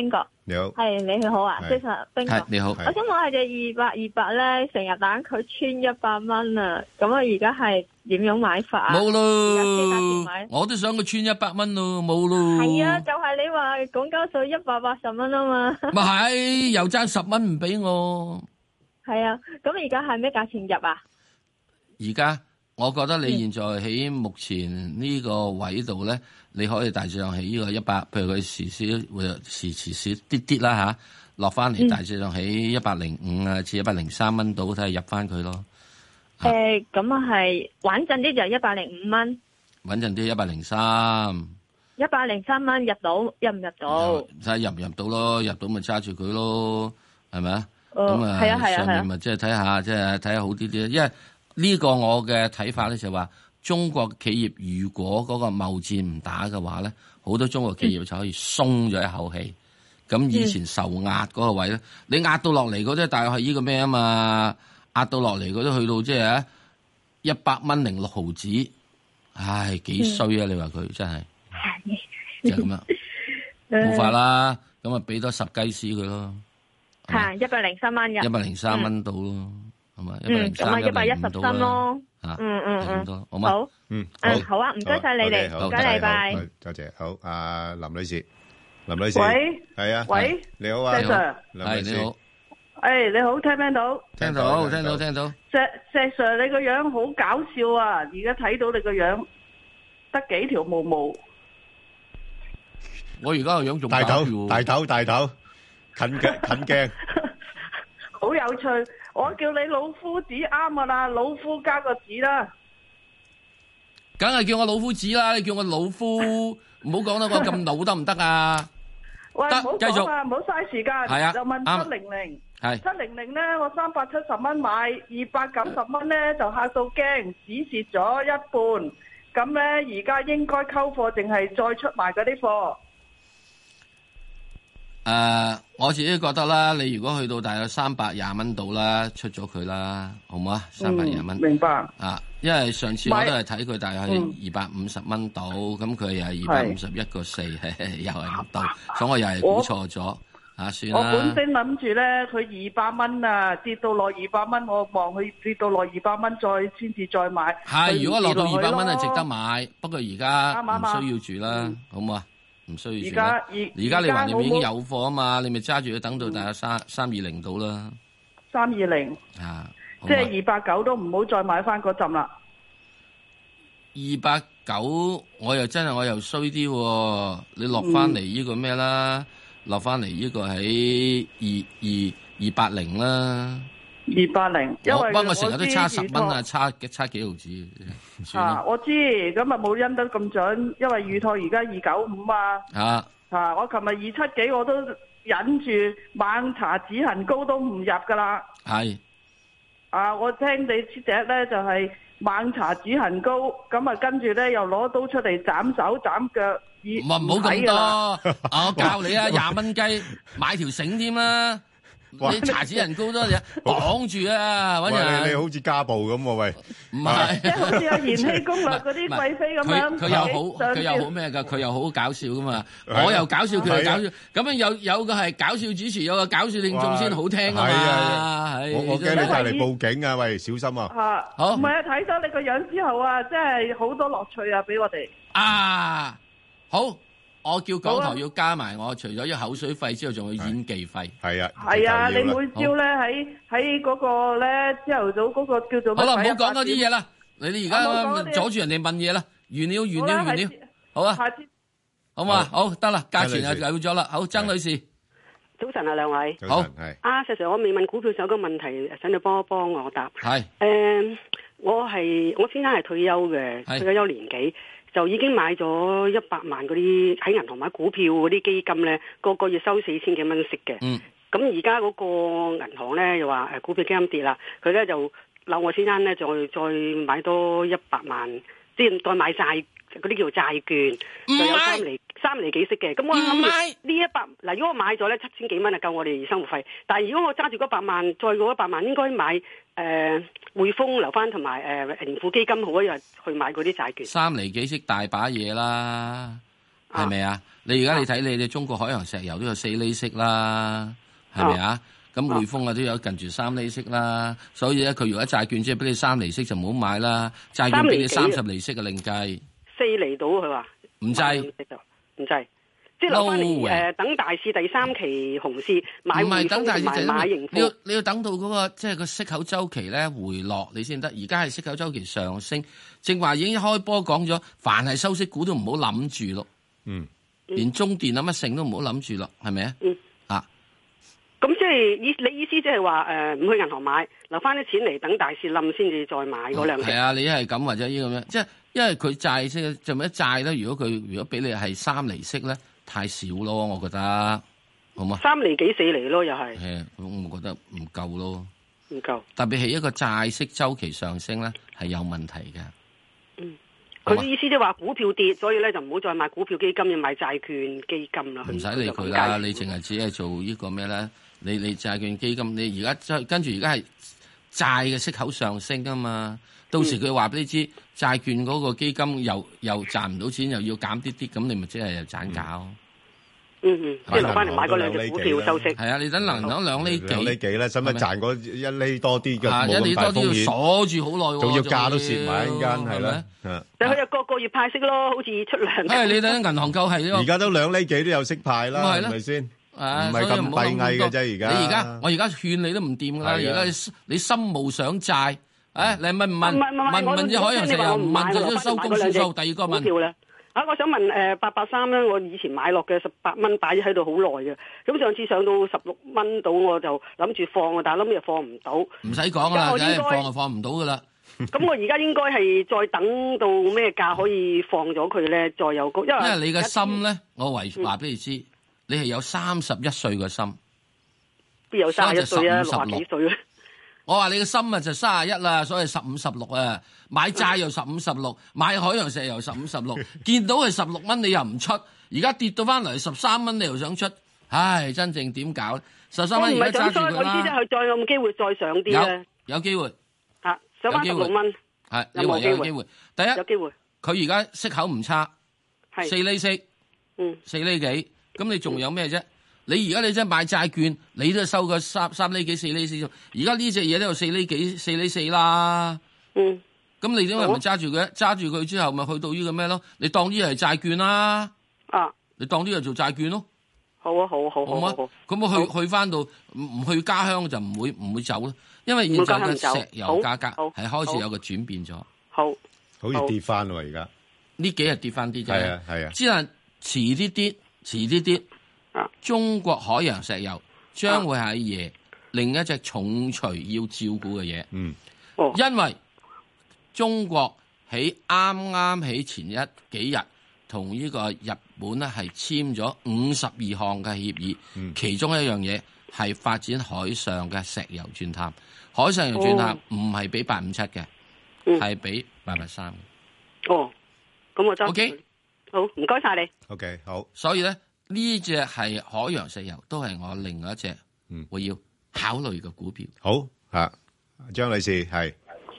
你好， 係你好啊，即係冰哥， 你好。 我想問下隻2828咧，成日等佢穿100蚊啊，咁啊而家係點樣買法啊？ 冇咯，我都想佢穿100蚊咯，冇咯。 係啊，就係你話港交所180蚊啊嘛。 咪係，又爭10蚊唔俾我。 係啊，咁而家係咩價錢入啊？ 而家我覺得你現在喺目前呢個位度咧，你可以大致上喺呢個100，譬如佢時會時少啲啲啦吓，落翻嚟大致上喺105啊至103蚊度，睇下入翻佢咯。 咁啊係穩陣啲就105蚊， 穩陣啲103。 103蚊入到，入唔入到？ 睇下入唔入到咯，入到咪揸住佢咯，係咪啊？ 咁啊， 上面咪即係睇下，即係睇下好啲啲，因為呢個我嘅睇法咧就係話，中國企業如果嗰個貿戰唔打嘅話咧，好多中國企業就可以鬆咗一口氣。咁以前受壓嗰個位咧，你壓到落嚟嗰啲大概係呢個咩啊嘛？壓到落嚟嗰啲去到即係100蚊06毫子，唉幾衰啊！你話佢真係就咁樣，冇法啦。咁啊俾多10雞絲佢咯。 係103蚊入 ，103蚊到咯，係嘛 ？103，咁啊110蚊咯。 咁多，好嘛？ 好，好啊，唔該晒你哋，唔該你，拜。 多謝，好，阿林女士，喂，係啊， 喂， 你好啊， 石 Sir， 係你好， 你好，聽唔聽到？ 聽到。 石 Sir，你個樣好搞笑啊！而家睇到你個樣得幾條毛毛。 我而家個樣仲大頭。近鏡， 好有趣。我叫你老夫子啱噶啦，老夫加個子啦。 梗係叫我老夫子啦，你叫我老夫，唔好講得我咁老得唔得啊？ 喂，唔好講啊，唔好嘥時間。 係啊， 就問700，係700咧，我370蚊買，290蚊咧就嚇到驚，只蝕咗一半。咁咧而家應該溝貨，定係再出賣嗰啲貨？ 我自己覺得啦，你如果去到大約320蚊度啦，出咗佢啦，好唔好啊？320蚊， 明白啊？因為上次我都係睇佢大約係250蚊度，咁佢又係251個4，又係唔到，所以我又係估錯咗算啦。 我本身諗住咧，佢200蚊啊，跌到落200蚊，我望佢跌到落200蚊，先至再買。 係，如果落到200蚊係值得買，不過而家唔需要住啦，好唔好啊？唔需要住。而家你話你已經有貨啊嘛，你咪揸住佢等到大約320到啦。 320即係289都唔好再買翻嗰陣啦。 289我又衰啲，你落翻嚟呢個咩啦？落翻嚟呢個喺280啦。 280，因為我成日都差10蚊啊，差幾毫子。 我知，咁啊冇因得咁準，因為預託而家295啊。我琴日270幾，我都忍住猛搽止痕膏都唔入噶啦。 係。 我聽你呢隻咧就係猛搽止痕膏，咁啊跟住咧又攞刀出嚟斬手斬腳。 唔好咁多，我教你啊，20蚊雞買條繩添啦。你搽止痕膏多嘢綁住啊！搵人你好似家暴咁喎，喂， 唔係， 即係好似有延禧攻略嗰啲貴妃咁樣。 佢又好咩噶？佢又好搞笑噶嘛！我又搞笑，佢又搞笑。咁樣有個係搞笑主持，有個搞笑聽眾先好聽啊嘛！ 我驚你帶嚟報警啊！喂，小心啊！ 好， 唔係啊！睇咗你個樣之後啊，真係好多樂趣啊！俾我哋好。我叫港台要加埋我，除咗口水費之後，仲要演技費。 係啊， 係啊，你每朝咧喺嗰個咧朝頭早嗰個叫做好啦，唔好講嗰啲嘢啦。你而家阻住人哋問嘢啦，完了，好啊，好嘛，好得啦，價錢又有咗啦。好，曾女士， 早晨啊，兩位， 好。 石 Sir，我未問股票有個問題，想你幫我答。 係。 我先生係退休嘅，退咗休年幾。就已經買咗100萬嗰啲喺銀行買股票嗰啲基金咧，個月收4000幾蚊息嘅。咁而家嗰個銀行咧又話股票基金跌啦，佢咧就扭我先生咧再買多100萬，即係再買債嗰啲叫做債券，就有3厘幾息嘅。咁我諗呢100嗱，如果我買咗咧7000幾蚊就夠我哋生活費。但係如果我揸住嗰100萬，再嗰100萬應該買匯豐留翻同埋盈富基金好一日去買嗰啲債券。 3厘幾息大把嘢啦，係咪啊？ 你而家你睇你哋中國海洋石油都有4厘息啦，係咪啊？咁匯豐啊都有近住3厘息啦，所以咧佢如果債券即係俾你3厘息就唔好買啦，債券俾你30厘息嘅另計。 4厘到佢話唔制， 唔制，即係留翻嚟等大市第3期熊市買匯豐同埋買盈富。 你要等到嗰個即係個息口周期咧回落你先得，而家係息口周期上升，正話已經一開波講咗，凡係收息股都唔好諗住咯。連中電乜剩都唔好諗住咯，係咪啊？ 咁即係你意思即係話唔去銀行買，留翻啲錢嚟等大市冧先至再買嗰兩隻。 係啊，你係咁或者呢咁樣，即係因為佢債息就咪一債咧。如果俾你係3厘息咧，太少咯，我覺得好嘛？3 厘幾4厘咯，又係。 係，我覺得唔夠咯。 唔夠。 特別係一個債息周期上升咧，係有問題嘅。 佢意思即係話股票跌，所以咧就唔好再買股票基金，要買債券基金啦。 唔使理佢啦，你淨係只係做呢個咩咧？你債券基金，你而家跟住而家係債嘅息口上升啊嘛，到時佢話俾你知債券嗰個基金又賺唔到錢，又要減啲啲，咁你咪即係又賺搞。 即係留翻嚟買嗰兩隻股票收息。 係啊，你等兩厘幾咧，使乜賺嗰1厘多啲嘅？ 1厘多啲要鎖住好耐喎， 仲要價都蝕埋一間，係啦。 但係佢又個月派息咯，好似出糧。 你等銀行夠係而家都2厘幾都有息派啦，係咪先？唔係咁閉翳嘅啫，而家。 我而家勸你都唔掂㗎啦，而家你心無想債，你問唔問隻海洋石油？唔問就都收工算數。第二個問。 我想問883咧，我以前買落嘅18蚊擺喺度好耐嘅，咁上次上到16蚊到，我就諗住放，但係諗又放唔到。 唔使講啦，梗係放就放唔到噶啦。 咁我而家應該係再等到咩價可以放咗佢咧？再有高，因為你嘅心咧，我話俾你知，你係有31歲嘅心， 邊有31歲啊？60幾歲啊？ 我話你嘅心啊就31啦，所以15、16啊，買債又15、16，買海洋石油15、16，見到係16蚊你又唔出，而家跌到翻嚟13蚊你又想出，唉，真正點搞咧？13蚊而家揸住佢啦。我唔係想我意思即係佢再有冇機會再上啲咧？有機會嚇，上翻16蚊係有冇機會？第一有機會， 佢而家息口唔差，4厘息，4厘幾，咁你仲有咩啫？你而家你真係買債券，你都收個3厘幾、4厘4。而家呢隻嘢都有4厘幾、4厘4啦。咁你點解唔揸住佢？揸住佢之後，咪去到呢個咩咯？你當呢係債券啦。你當呢係做債券咯。 好啊，好嘛？咁我去翻到唔去家鄉就唔會走咯。因為現在嘅石油價格係開始有個轉變咗。 好似跌翻喎，而家呢幾日跌翻啲啫。 係啊。 只係遲啲。中國海洋石油將會係爺另一隻重錘要照顧嘅嘢。因為中國喺啱喺前幾日同呢個日本咧係簽咗52項嘅協議，其中一樣嘢係發展海上嘅石油鑽探。海上油鑽探唔係俾857嘅，係俾883。 咁我真 OK， 好，唔該晒你。 OK， 好。 所以咧。呢隻係海洋石油，都係我另外一隻我要考慮嘅股票。 好張女士係。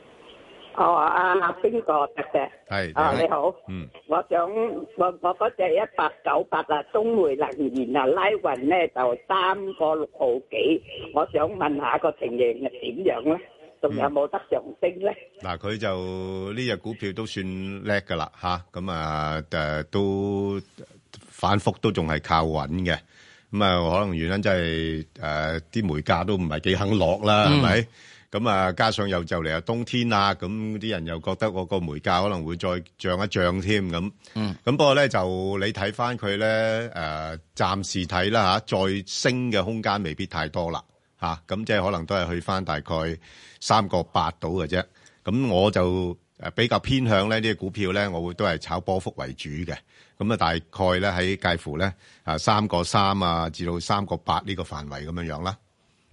邊個得嘅？ 係。 你好。我想我嗰隻1898啊，中煤能源啊，拉勻咧就3個6毫幾，我想問下個情形係點樣咧？仲有冇得上升咧？ 嗱，佢就呢隻股票都算叻噶啦嚇，咁都。反覆都仲係靠穩嘅，咁可能原因真係啲煤價都唔係幾肯落啦，係咪？咁加上又就嚟冬天啦，咁啲人又覺得我個煤價可能會再漲一漲添咁。咁不過咧就你睇翻佢咧暫時睇啦再升嘅空間未必太多啦咁即係可能都係去翻大概3個8度嘅啫。咁我就比較偏向咧呢啲股票咧，我會都係炒波幅為主嘅。咁大概咧喺介乎咧3個3至到3個8呢個範圍咁樣啦。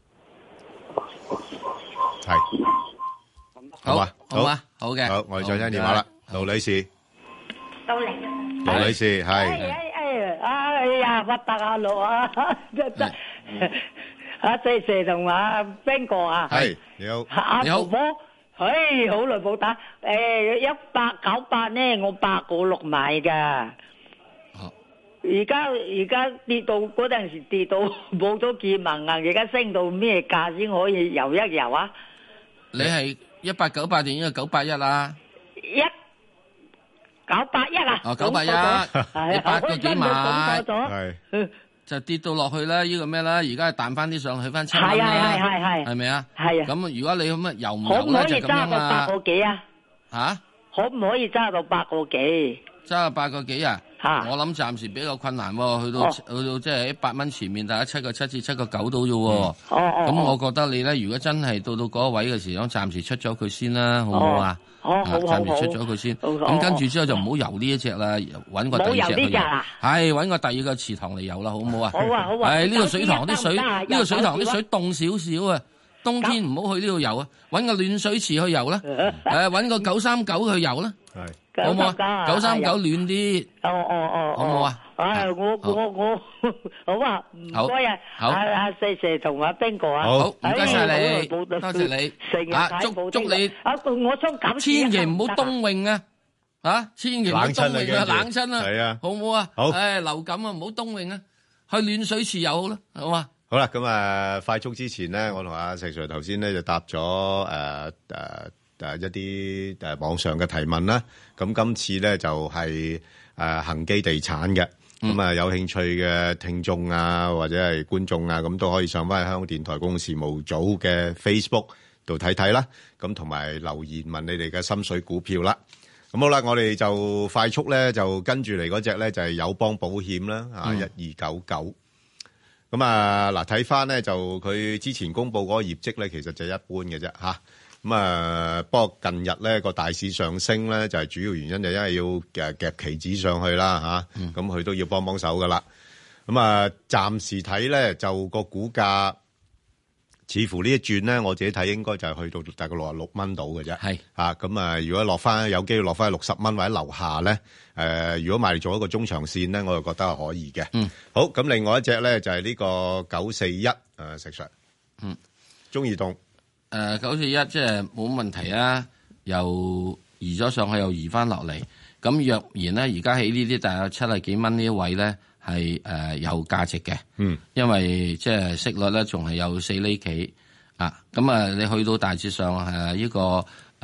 係，好啊， 好嘅， 好，我哋再聽電話啦，盧女士， 到嚟， 盧女士係， 哎呀，發達啊，盧啊，真謝同阿邊個啊？ 係，你好， 你好。好耐冇打，1898咧，我8個6買噶。 而家跌到嗰陣時跌到冇咗見聞啊！而家升到咩價先可以游一游啊？ 你係1898定呢個981啊 ？981啊？ 哦，981，你8個幾買？ 係就跌到落去啦！呢個咩啦？而家彈翻啲上去翻7蚊啦，係咪啊？ 係啊。 咁如果你咁啊游唔游咧就咁樣啦。 可唔可以揸到8個幾啊？ 嚇？ 可唔可以揸到8個幾？ 揸到8個幾啊？我諗暫時比較困難喎，去到即係喺8蚊前面，大家7個7至7個9到啫喎。咁我覺得你咧，如果真係到嗰個位嘅時候，暫時出咗佢先啦，好唔好啊？暫時出咗佢先。咁跟住之後就唔好游呢一隻啦，揾個第二隻去游。係揾個第二個池塘嚟游啦，好唔好啊？ 好啊好啊。 呢個水塘啲水，呢個水塘啲水凍少少啊。冬天唔好去呢度游啊，揾個暖水池去游啦。揾個939去游啦。係，好唔好啊？939暖啲。哦，好唔好啊？ 我好啊，唔該啊。好，阿四爺同阿邊個啊？ 好，唔該晒你，多謝你。祝你。 我想咁。 千祈唔好冬泳啊！千祈唔好冬泳啊，冷親啊。係啊，好唔好啊？好。流感啊，唔好冬泳啊，去暖水池游好啦，好嘛？ 好啦，咁快速之前咧，我同阿石 Sir 頭先咧就答咗一啲網上嘅提問啦。咁今次咧就係恒基地產嘅，咁有興趣嘅聽眾啊或者係觀眾啊，咁都可以上翻去香港電台公共事務組嘅 Facebook 度睇睇啦。咁同埋留言問你哋嘅心水股票啦。咁好啦，我哋就快速咧就跟住嚟嗰隻咧就係友邦保險啦，1299。咁嗱，睇翻咧就佢之前公布嗰個業績咧，其實就一般嘅啫嚇。咁不過近日咧個大市上升咧，就係主要原因就因為要夾期指上去啦嚇。咁佢都要幫手噶啦。咁暫時睇咧就個股價似乎呢一轉咧，我自己睇應該就係去到大概66蚊到嘅啫。係嚇。咁如果落翻有機會落翻去60蚊或者樓下咧。如果買嚟做一個中長線咧，我就覺得係可以嘅。好，咁另外一隻咧就係呢個941，石 Sir。中移動。 941即係冇問題啊，又移咗上去，又移翻落嚟。咁若然咧，而家喺呢啲大約70幾蚊呢一位咧，係有價值嘅。因為即係息率咧，仲係有4厘幾啊。咁你去到大致上呢個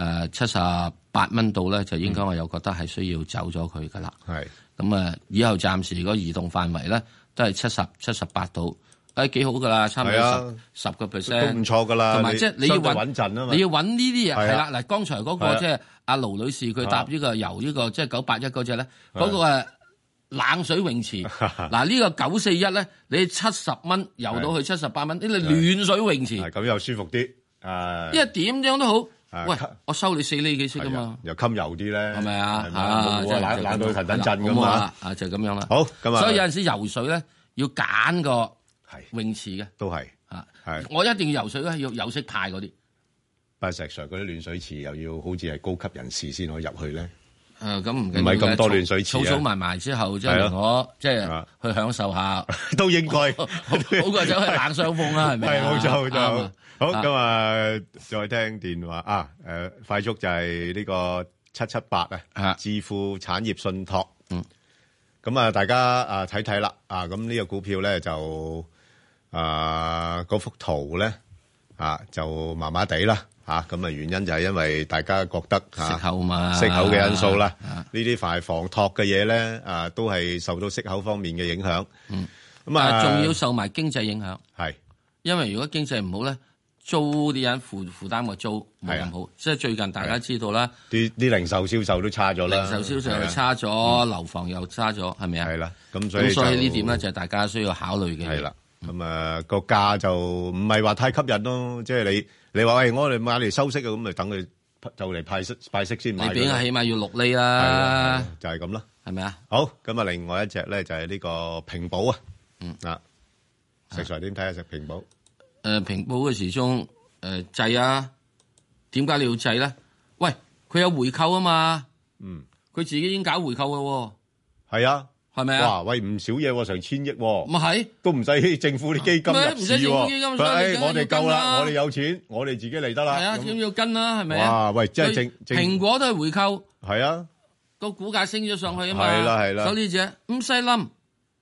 78蚊度咧，就應該我又覺得係需要走咗佢噶啦。係咁以後暫時個移動範圍咧都係70、78度，幾好噶啦，差唔多10% 都唔錯噶啦。 同埋即係你要穩陣啊嘛， 你要揾呢啲嘢係啦。嗱，剛才嗰個即係阿盧女士佢搭呢個由呢個即係981嗰隻咧，嗰個係冷水泳池。嗱呢個941咧，你70蚊游到去78蚊，呢個暖水泳池。 咁又舒服啲。 因為點樣都好。喂，我收你4厘幾息噶嘛， 又襟油啲咧， 係咪啊？ 冷到騰騰震咁嘛， 就咁樣啦。 好，咁所以有陣時游水咧要揀個泳池嘅， 都係我一定要游水咧，要有識派嗰啲。 但係石 Sir 嗰啲暖水池又要好似係高級人士先可以入去咧。 咁唔係咁多暖水池， 儲埋埋之後，即係我即係去享受下， 都應該好過走去冷傷風啦，係咪？ 係冇錯。好，咁再聽電話快速就係呢個778置富產業信託。咁大家睇睇啦。咁呢個股票咧就嗰幅圖咧就麻麻地啦。咁原因就係因為大家覺得息口嘛， 息口嘅因素啦。呢啲房託嘅嘢咧都係受到息口方面嘅影響。咁仲要受埋經濟影響。 係， 因為如果經濟唔好咧，租啲人負擔個租冇咁好。即係最近大家知道啦， 啲零售銷售都差咗啦， 零售銷售又差咗，樓房又差咗，係咪啊？ 係啦，咁所以呢點咧就係大家需要考慮嘅。 係啦，咁個價就唔係話太吸引咯。即係你話喂，我哋買嚟收息啊，咁咪等佢就嚟派息先買。 你俾佢起碼要6厘啦， 就係咁啦， 係咪啊？ 好，咁另外一隻咧就係呢個平保啊。石 Sir 點睇下隻平保？ 平保嘅時鐘制啊？點解你要制咧？喂，佢有回購啊嘛。佢自己已經搞回購咯。 係啊。 係咪啊？ 哇！喂，唔少嘢喎，成1000億喎。 咪係都唔使政府啲基金入市喎。 唔使政府基金， 我哋夠啦，我哋有錢，我哋自己嚟得啦。 係啊，點要跟啦？係咪啊？ 哇！喂，即係蘋果都係回購。 係啊， 個股價升咗上去啊嘛。 係啦。 所以呢隻唔使冧，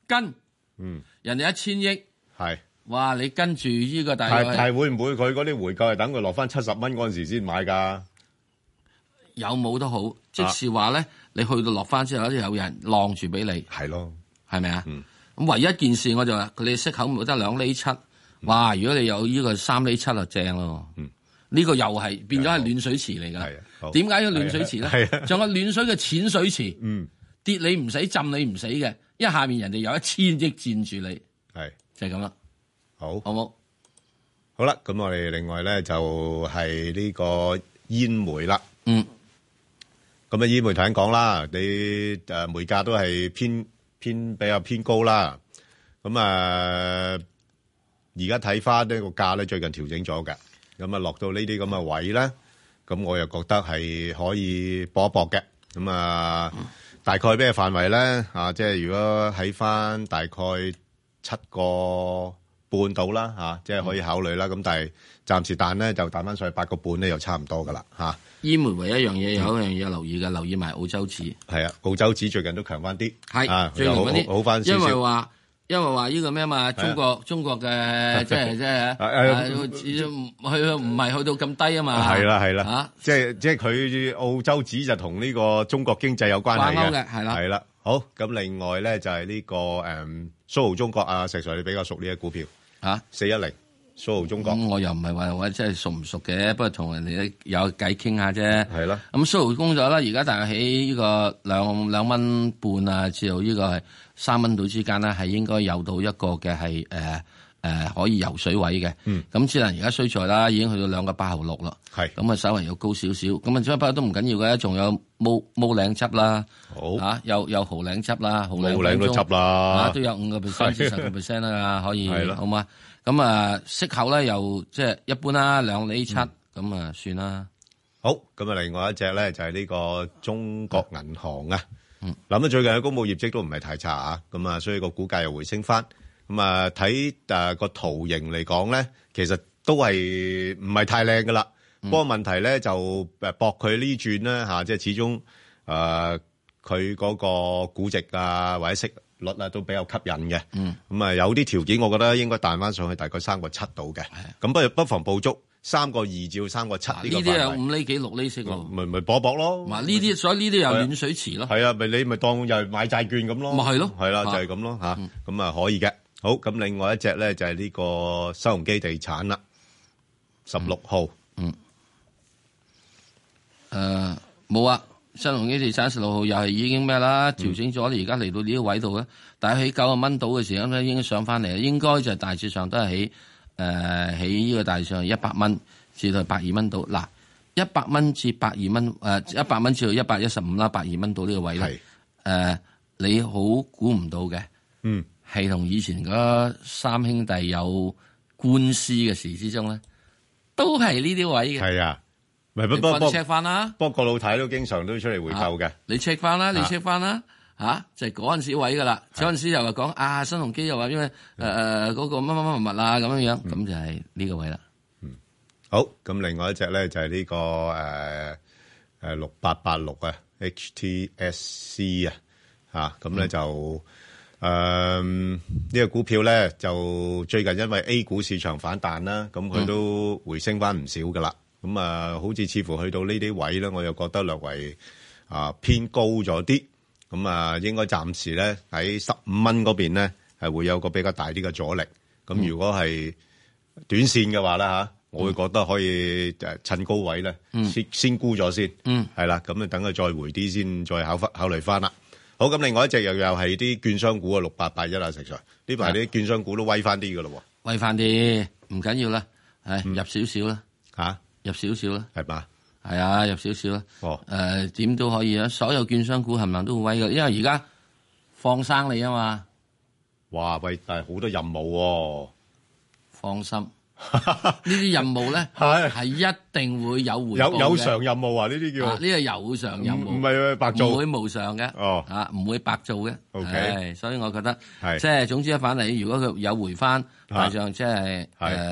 跟，人哋1000億，係，哇！你跟住呢個大概係會唔會佢嗰啲回購係等佢落翻70蚊嗰陣時先買㗎？ 有冇都好，即是話咧，你去到落翻之後咧，有人晾住俾你， 係咯， 係咪啊？咁唯一一件事我就話，佢哋息口唔得2厘7，哇！如果你有呢個3厘7就正咯。呢個又係變咗係暖水池嚟㗎。點解要暖水池咧？仲有暖水嘅淺水池，跌你唔死，浸你唔死嘅，因為下面人哋有1000億佔住你，係就係咁啦。好冇？ 好啦，咁我哋另外咧就係呢個煙煤啦。咁啊，煙煤頭先講啦，你煤價都係比較偏高啦。咁啊，而家睇翻呢個價咧，最近調整咗嘅。咁啊，落到呢啲咁嘅位咧，咁我又覺得係可以搏一搏嘅。咁啊，大概咩範圍咧？即係如果喺翻大概7個半到啦，即係可以考慮啦。咁但係暫時彈咧就彈翻上去8個半咧，又差唔多噶啦， 煙煤唯一一樣嘢有一樣嘢留意嘅，留意埋澳洲紙。 係啊，澳洲紙最近都強翻啲， 係最近強翻啲， 好翻少少。 因為話呢個咩嘛，中國嘅即係佢唔係去到咁低啊嘛。係啦，即係佢澳洲紙就同呢個中國經濟有關係嘅，係啦。好，咁另外咧就係呢個蘇豪中國啊，石 Sir 你比較熟呢隻股票410。蘇豪中國， 我又唔係話我真係熟唔熟嘅，不過同人哋有偈傾下啫。 係啦， 咁蘇豪工作啦，而家大概喺呢個2蚊半啊，至到呢個係3蚊到之間咧，係應該有到一個嘅係可以游水位嘅。咁只能而家衰在啦，已經去到2個8毫6啦。係咁啊，稍微又高少少。咁啊，不過都唔緊要嘅，仲有毛領汁啦。好有蠔領汁啦，蠔領都執啦， 都有5% 至10% 啦，可以好嘛？咁啊，息口咧又即係一般啦，2厘7，咁啊算啦。 好，咁啊，另外一隻咧就係呢個中國銀行啊。諗最近嘅公佈業績都唔係太差啊，咁啊，所以個股價又回升翻。咁啊，睇個圖形嚟講咧，其實都係唔係太靚噶啦。不過問題咧就搏佢呢轉咧即係始終佢嗰個估值啊或者息率啊都比較吸引嘅，咁啊有啲條件，我覺得應該彈翻上去大概3個7度嘅，咁不妨捕捉3個2至3個7呢個範圍。呢啲有5厘幾6厘息喎，咪搏搏咯。嗱呢啲，所以呢啲又暖水池咯。係啊，咪你咪當又買債券咁咯。咪係咯，係啦，就係咁咯嚇，咁啊可以嘅。好，咁另外一隻咧就係呢個新鴻基地產啦，16號。 冇啊。新鴻基地產16號又係已經咩啦？調整咗，而家嚟到呢個位度咧，但係喺90蚊度嘅時候咧，應該上翻嚟，應該就大致上都係喺呢個大致上100蚊至到120蚊度。嗱，100蚊至120蚊，100蚊至到115啦，120蚊到呢個位咧，你好估唔到嘅，係同以前嗰三兄弟有官司嘅時之中咧，都係呢啲位嘅。係啊。唔係，不過 check 翻啦。不過個老太都經常都出嚟回購嘅。你 check 翻啦，你 check 翻啦，就係嗰陣時位噶啦。嗰陣時又話講新鴻基又話因為嗰個乜乜乜物啊咁樣樣，咁就係呢個位啦。 好，咁另外一隻咧就係呢個6886啊 HTSC 啊，咁咧就呢個股票咧就最近因為 A 股市場反彈啦，咁佢都回升翻唔少噶啦。咁啊，好似似乎去到呢啲位咧，我又覺得略為偏高咗啲。咁啊，應該暫時咧喺15蚊嗰邊咧係會有個比較大啲嘅阻力。咁如果係短線嘅話咧我會覺得可以趁高位咧先沽咗先。係啦，咁啊等佢再回啲先，再考慮翻啦。好，咁另外一隻又係啲券商股啊，6881啊，石 Sir，呢排啲券商股都威翻啲噶咯喎。 威翻啲，唔緊要啦，入少少啦入少少啦， 係嘛？ 係啊，入少少啦。點都可以啊！所有券商股冚唪唥都好威嘅，因為而家放生你啊嘛。 哇！喂，但係好多任務喎。 放心，呢啲任務咧係一定會有回報嘅。 有償任務啊！呢啲叫呢個有償任務， 唔係白做， 唔會無償嘅。唔會白做嘅。 OK， 所以我覺得即係總之一反嚟，如果佢有回翻，大上即係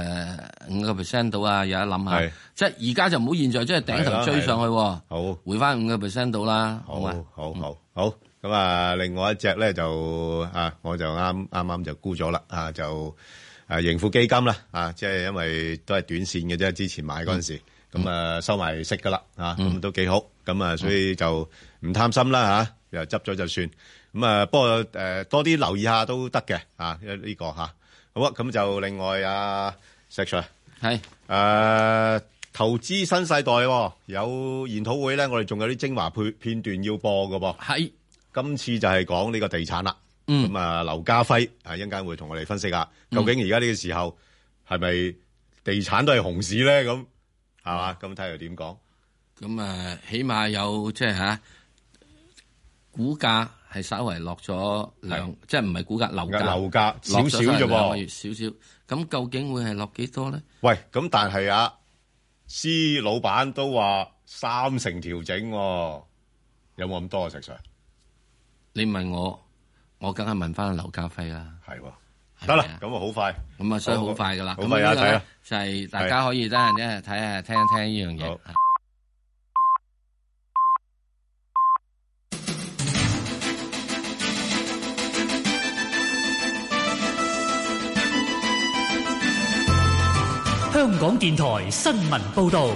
5% 到啊，有得諗下。即係而家就唔好現在即係頂頭追上去。好，回翻5% 到啦。好嘛？好。 好，咁啊，另外一隻咧就我就啱就沽咗啦，就盈富基金啦，即係因為都係短線嘅啫，之前買嗰陣時，咁收埋息噶啦，咁都幾好，咁所以就唔貪心啦又執咗就算，咁不過多啲留意下都得嘅，呢個好啊，咁就另外石 Sir 係投資新世代有研討會咧，我哋仲有啲精華片段要播㗎噃。 係， 今次就係講呢個地產啦。咁劉家輝一陣間會同我哋分析下，究竟而家呢個時候係咪地產都係熊市咧？咁係嘛？咁睇下點講。 咁起碼有即係股價係稍為落咗即係唔係股價樓價少少啫噃， 少少。咁究竟會係落幾多咧？ 喂，咁但係施老闆都話3成調整，有冇咁多啊？石 Sir， 你問我梗係問翻劉家輝啦。 係得啦，咁好快， 咁所以好快噶啦。 咁咪睇下， 就係大家可以得閒咧睇下聽一聽呢樣嘢。 香港電台新聞報道。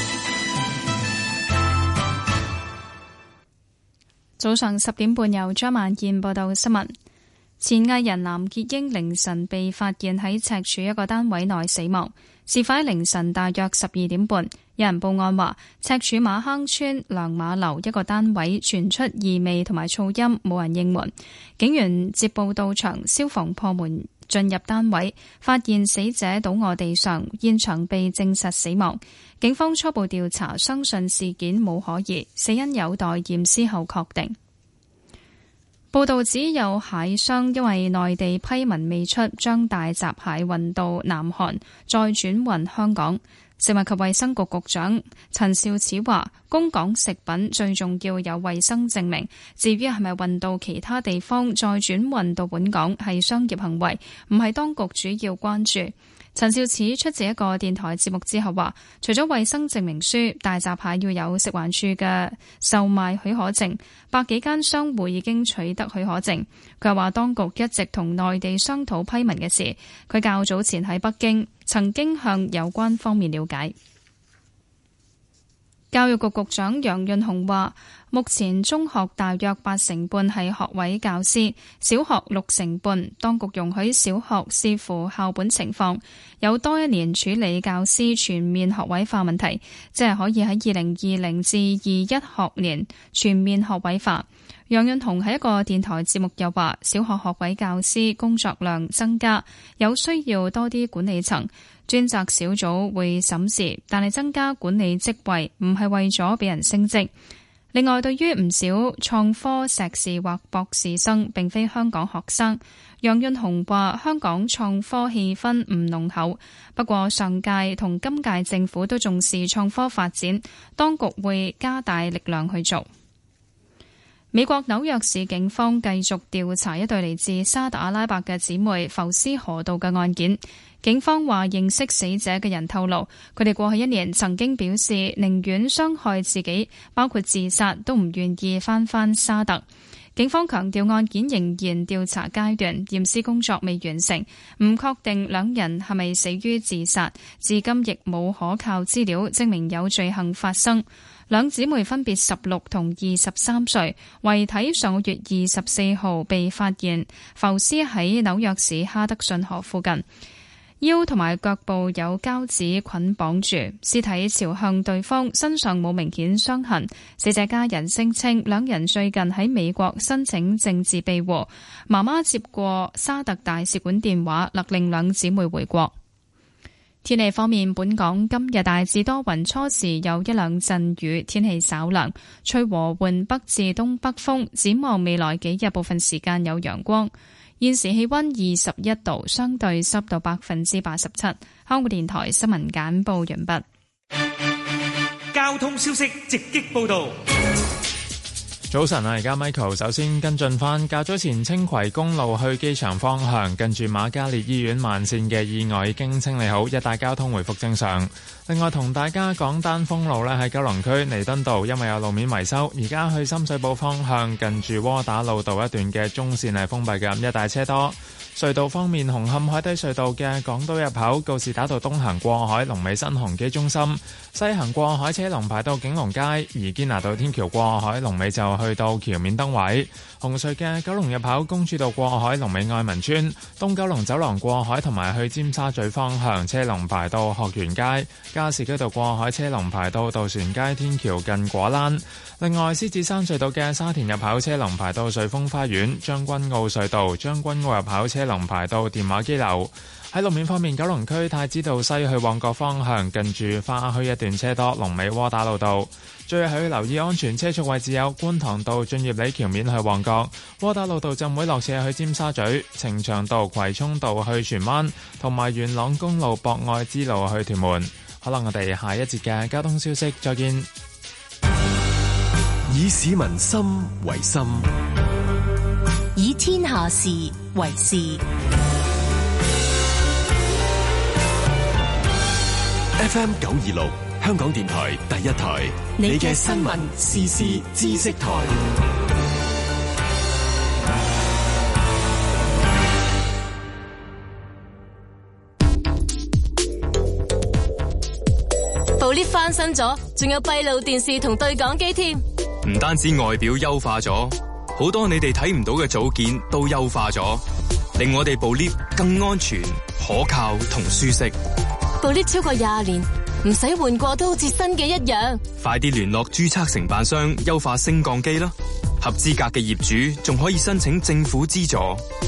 早上10點半由張萬燕報道新聞。前藝人藍潔瑛凌晨被發現喺赤柱一個單位內死亡。事發喺凌晨大約12點半，有人報案話赤柱馬坑村良馬樓一個單位傳出異味同埋噪音，冇人應門。警員接報到場，消防破門進入單位，發現死者倒卧地上，現場被證實死亡。警方初步調查，相信事件冇可疑，死因有待驗屍後確定。報道指有蟹商因為內地批文未出，將大閘蟹運到南韓，再轉運香港。食物及衛生局局長陳肇始話，供港食品最重要有衛生證明，至於係咪運到其他地方再轉運到本港係商業行為，唔係當局主要關注。陳肇始出席一個電台節目之後話，除咗衛生證明書，大閘蟹要有食環署嘅售賣許可證，100幾間商戶已經取得許可證。佢話當局一直同內地商討批文嘅事，佢較早前喺北京曾經向有關方面了解。教育局局長楊潤雄話，目前中學大約85%係學位教師，小學60%。當局容許小學視乎校本情況，有多一年處理教師全面學位化問題，即係可以喺2020至21學年全面學位化。楊潤雄喺一個電台節目又話，小學學位教師工作量增加，有需要多啲管理層。專責小組會審視，但係增加管理職位唔係為咗俾人升職。另外，對於唔少創科碩士或博士生並非香港學生，楊潤雄話香港創科氣氛唔濃厚，不過上屆同今屆政府都重視創科發展，當局會加大力量去做。美國紐約市警方繼續調查一對嚟自沙特阿拉伯嘅姊妹浮屍河道嘅案件。警方話認識死者嘅人透露，佢哋過去1年曾經表示寧願傷害自己，包括自殺，都唔願意返沙特。警方強調案件仍然調查階段，驗屍工作未完成，唔確定兩人係咪死於自殺，至今亦冇可靠資料證明有罪行發生。兩姊妹分別16同23歲，遺體上個月24號被發現浮屍喺紐約市哈德遜河附近，腰同埋腳部有膠紙捆綁住，屍體朝向對方，身上冇明顯傷痕。死者家人聲稱兩人最近喺美國申請政治庇護，媽媽接過沙特大使館電話，勒令兩姊妹回國。天氣方面，本港今日大致多雲，初時有一兩陣雨，天氣稍涼，吹和緩北至東北風。展望未來幾日，部分時間有陽光。現時氣溫21度，相對濕度87%。香港電台新聞簡報完畢。 交通消息直擊報道。 早晨啊，而家 Michael 首先跟進翻較早前青葵公路去機場方向近住瑪嘉烈醫院慢線嘅意外已經清理好，一帶交通回復正常。另外同大家講單封路呢，喺九龍區彌敦道，因為有路面維修，而家去深水埗方向近住窩打老道一段嘅中線係封閉嘅，一帶車多。隧道方面，紅磡海底隧道嘅港島入口告士打道東行過海，龍尾新鴻基中心；西行過海車龍排到景隆街，而堅拿道天橋過海龍尾就去到橋面燈位。紅隧嘅九龍入口公主道過海龍尾愛民村，東九龍走廊過海同埋去尖沙咀方向車龍排到學園街，加士居道過海車龍排到渡船街天橋近果欄。另外，獅子山隧道嘅沙田入口車龍排到瑞豐花園，將軍澳隧道將軍澳入口車龍排到電話機樓。喺路面方面，九龍區太子道西去旺角方向近住花墟一段車多，龍尾窩打老道。最後要留意安全車速位置有觀塘道駿業里橋面去旺角，窩打老道浸會落斜去尖沙咀，呈祥道葵涌道去荃灣，同埋元朗公路博愛之路去屯門。好啦，我哋下一節嘅交通消息再見。 以市民心為心， 以天下事為事。 FM 926，香港電台第一台，你嘅新聞時事知識台。 部 lift 翻新咗，仲有閉路電視同對講機添。 唔單止外表優化咗，好多你哋睇唔到嘅組件都優化咗，令我哋部 lift 更安全、可靠同舒適。 部 lift 超過20年，唔使換過都好似新嘅一樣。 快啲聯絡註冊承辦商優化升降機啦！合資格嘅業主仲可以申請政府資助。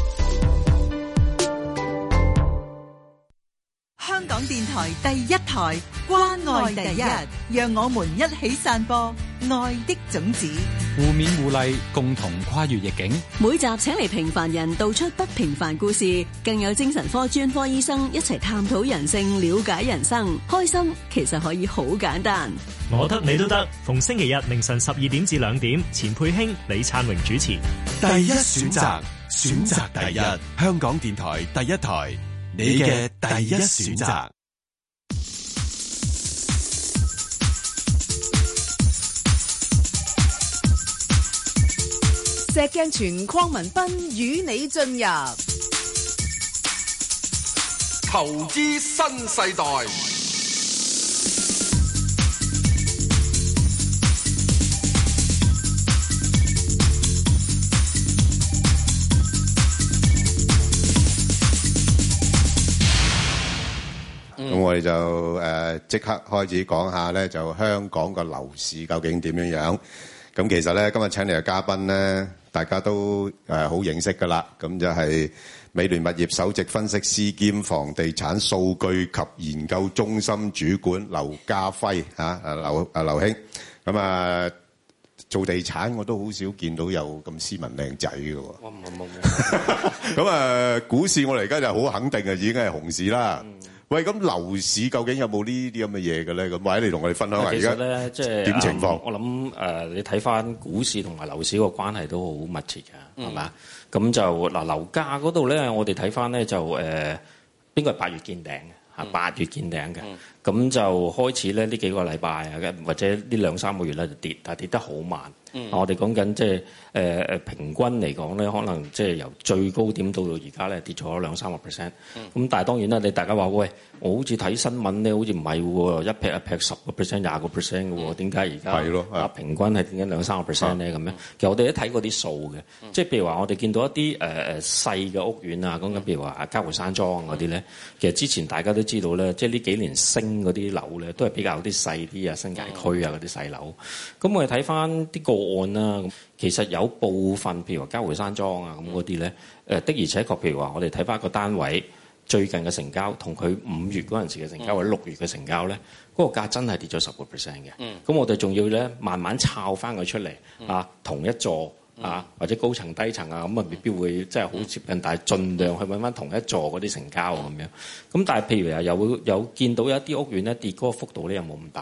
香港電台第一台，關愛第一，讓我們一起散播愛的種子， 互勉互勵，共同跨越逆境。 每集請嚟平凡人道出不平凡故事，更有精神科專科醫生一齊探討人性，了解人生。開心其實可以好簡單。 我得你都得，逢星期日凌晨12點至2點，錢佩卿、李燦榮主持。 第一選擇，選擇第一，香港電台第一台，你嘅第一選擇。 石鏡泉鄺民彬與你進入投資新世代。 咁我哋就即刻開始講下咧，就香港個樓市究竟點樣樣？咁其實咧，今日請嚟嘅嘉賓咧，大家都好認識噶啦。咁就係美聯物業首席分析師兼房地產數據及研究中心主管劉嘉輝嚇，劉兄。咁啊，做地產我都好少見到有咁斯文靚仔嘅喎。冇。咁啊，股市我哋而家就好肯定嘅，已經係熊市啦。喂，咁樓市究竟有冇呢啲咁嘅嘢嘅咧？咁或者你同我哋分享下而家咧，即係點情況？ 我諗你睇翻股市同埋樓市個關係都好密切嘅，係嘛？咁就嗱樓價嗰度咧，我哋睇翻咧就邊個係8月見頂嘅嚇？8月見頂嘅，咁就開始咧呢幾個禮拜啊，或者呢2-3個月咧就跌，但係跌得好慢。我哋講緊即係平均嚟講咧，可能即係由最高點到而家咧跌咗2-3%。咁但係當然啦，你大家話喂，我好似睇新聞咧，好似唔係喎，一劈10%、20%嘅喎，點解而家平均係點解2-3% 咧咁樣？其實我哋都睇過啲數嘅，即係譬如話我哋見到一啲細嘅屋苑啊，講緊譬如話嘉湖山莊嗰啲咧，其實之前大家都知道咧，即係呢幾年升嗰啲樓咧，都係比較啲細啲啊，新界區啊嗰啲細樓。咁我哋睇翻啲案啦，咁其實有部分譬如話嘉湖山莊啊咁嗰啲咧，的而且確譬如話我哋睇翻個單位最近嘅成交，同佢5月嗰陣時嘅成交或者6月嘅成交咧，嗰個價真係跌咗10%嘅。咁我哋仲要咧慢慢抄翻佢出嚟啊，同一座啊或者高層低層啊，咁啊未必會即係好接近，但係盡量去揾翻同一座嗰啲成交咁樣。咁但係譬如有見到有一啲屋苑咧跌嗰個幅度咧又冇咁大嘅。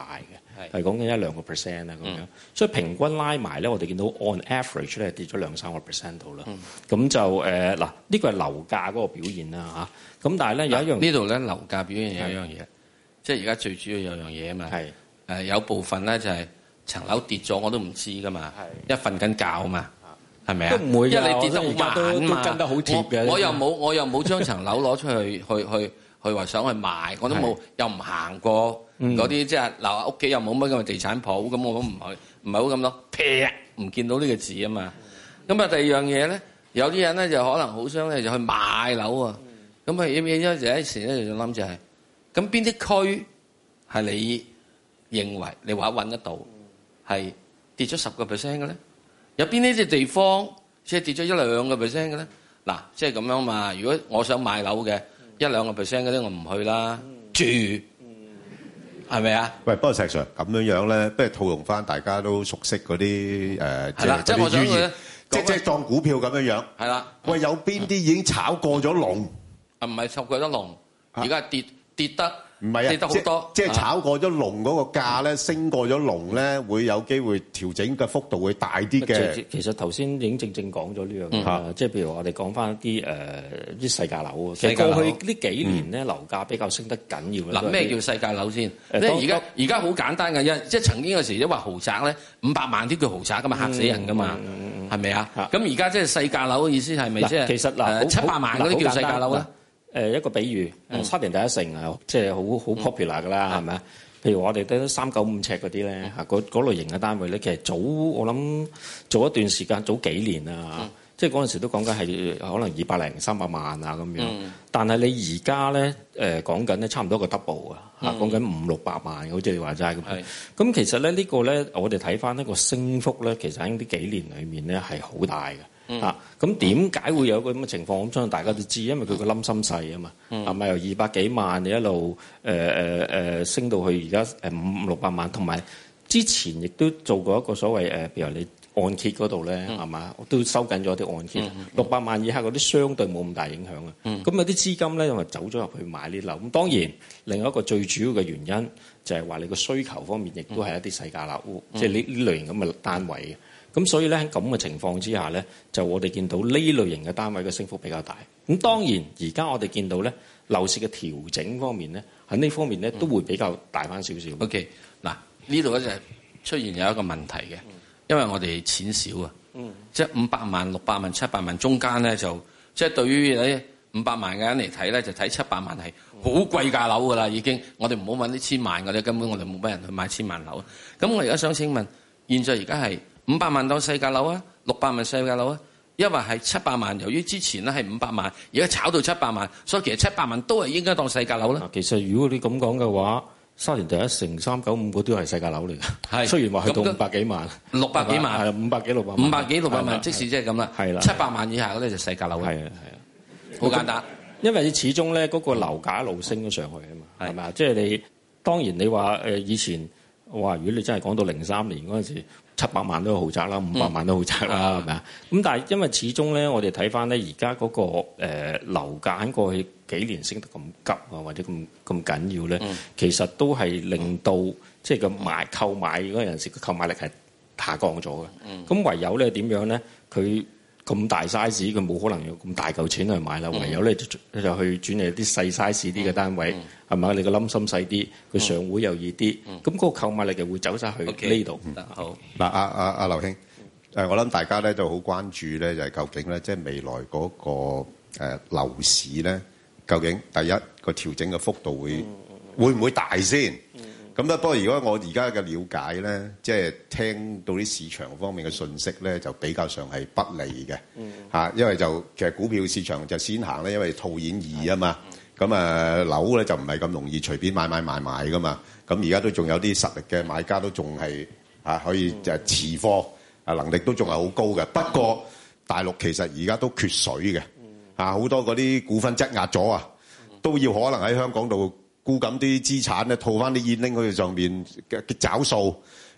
係講緊1-2% 啊咁樣。所以平均拉埋咧，我哋見到 on average 咧跌咗2-3% 度啦。咁就嗱，呢個係樓價嗰個表現啦嚇。咁但係咧有一樣呢度咧樓價表現有一樣嘢，即係而家最主要有樣嘢啊嘛。有部分咧就係層樓跌咗我都唔知噶嘛，一瞓緊覺啊嘛。係咪啊？ 都唔會， 因為你跌得好慢嘛， 都跟得好貼嘅。 我又冇將層樓攞出去話想去賣，我都冇，又唔行過嗰啲即係嗱屋企又冇乜咁嘅地產鋪，咁我都唔係好咁多，劈唔見到呢個字啊嘛。咁啊第二樣嘢咧，有啲人咧就可能好想咧就去買樓啊。咁啊有一時咧就諗就係，咁邊啲區係你認為你話揾得到係跌咗10%嘅咧？有邊呢啲地方即係跌咗1-2%嘅咧？嗱，即係咁樣嘛。如果我想買樓嘅1-2%嗰啲，我唔去啦。住係咪啊？ 喂，不過石 Sir 咁樣咧，不如套用翻大家都熟悉嗰啲即係我想佢即係當股票咁樣。係啦。喂，有邊啲已經炒過咗龍？ 唔係炒過咗龍，而家跌得。 唔係啊， 跌得好多， 即係炒過咗龍嗰個價咧，升過咗龍咧，會有機會調整嘅幅度會大啲嘅。 其實頭先已經正講咗呢樣嘢，即係譬如我哋講翻啲細價樓。其實過去呢幾年咧，樓價比較升得緊要。 嗱，咩叫細價樓先？而家好簡單嘅啫，即係曾經有時一話豪宅咧，500萬啲叫豪宅噶嘛，嚇死人噶嘛，係咪啊？咁而家即係細價樓嘅意思係咪即係？ 其實 700萬嗰啲叫細價樓咧？ 一個比喻，沙田第一城啊，即係好 popular 㗎啦，係咪啊？譬如我哋得395尺嗰啲咧，嗰類型嘅單位咧，其實我諗早一段時間，早幾年啊，即係嗰陣時都講緊係可能200-300萬啊咁樣。但係你而家咧講緊咧差唔多個 double 啊，講緊500-600萬，好似你話齋咁。咁其實咧呢個咧，我哋睇翻呢個升幅咧，其實喺呢幾年裡面咧係好大嘅。咁點解會有個咁嘅情況？我相信大家都知，因為佢個冧心細啊嘛，係咪由200幾萬你一路升到去而家500-600萬，同埋之前亦都做過一個所謂譬如你按揭嗰度咧，係嘛，都收緊咗啲按揭，600萬以下嗰啲相對冇咁大影響啊。咁有啲資金咧，因為走咗入去買呢樓。咁當然另外一個最主要嘅原因就係話你個需求方面亦都係一啲細價樓，即係呢類型咁嘅單位嘅。咁所以咧喺咁嘅情況之下咧，就我哋見到呢類型嘅單位嘅升幅比較大。咁當然而家我哋見到咧樓市嘅調整方面咧，喺呢方面咧都會比較大翻少少。 OK， 嗱呢度咧就係出現有一個問題嘅，因為我哋錢少啊，即係500萬、600萬、700萬中間咧就即係對於你500萬嘅人嚟睇咧，就睇700萬係好貴價樓㗎啦已經。我哋唔好揾啲1000萬嗰啲，根本我哋冇乜人去買1000萬樓。咁我而家想請問，現在而家係500萬當細價樓啊，600萬細價樓啊，因為係700萬。由於之前咧係500萬，而家炒到700萬，所以其實700萬都係應該當細價樓啦。 其實如果你咁講嘅話，沙田第一城395嗰啲係細價樓嚟嘅。係雖然話去到500幾萬、 600幾萬， 係500幾600萬 ，500幾600萬，即使即係咁啦。係啦，700萬以下嗰啲就細價樓。係啊，好簡單。因為始終咧嗰個樓價一路升咗上去啊嘛，係咪啊？即係你當然你話以前話如果你真係講到03年嗰陣時，700萬都係豪宅啦，500萬都豪宅啦，係咪啊？咁但係因為始終咧，我哋睇翻咧，而家嗰個樓價喺過去幾年升得咁急啊，或者咁緊要咧，其實都係令到即係個購買嗰陣時個購買力係下降咗嘅。咁唯有咧點樣咧？佢咁大 size，佢冇可能用咁大嚿錢去買啦。唯有咧就去轉嚟啲細 size 啲嘅單位，係咪？你個冧心細啲，佢上會又易啲，咁嗰個購買力就會走晒去呢度。 好嗱，阿劉兄，我諗大家咧都好關注咧，就係究竟咧，即係未來嗰個樓市咧，究竟第一個調整嘅幅度會唔會大先？咁咧，不過如果我而家嘅了解咧，即係聽到啲市場方面嘅信息咧，就比較上係不利嘅嚇，因為就其實股票市場就先行咧，因為套現易啊嘛，咁樓咧就唔係咁容易隨便買賣噶嘛，咁而家都仲有啲實力嘅買家都仲係可以就係持貨能力都仲係好高嘅，不過大陸其實而家都缺水嘅好多嗰啲股份質押咗啊，都要可能喺香港度沽緊啲資產咧，套翻啲現拎去上面嘅找數，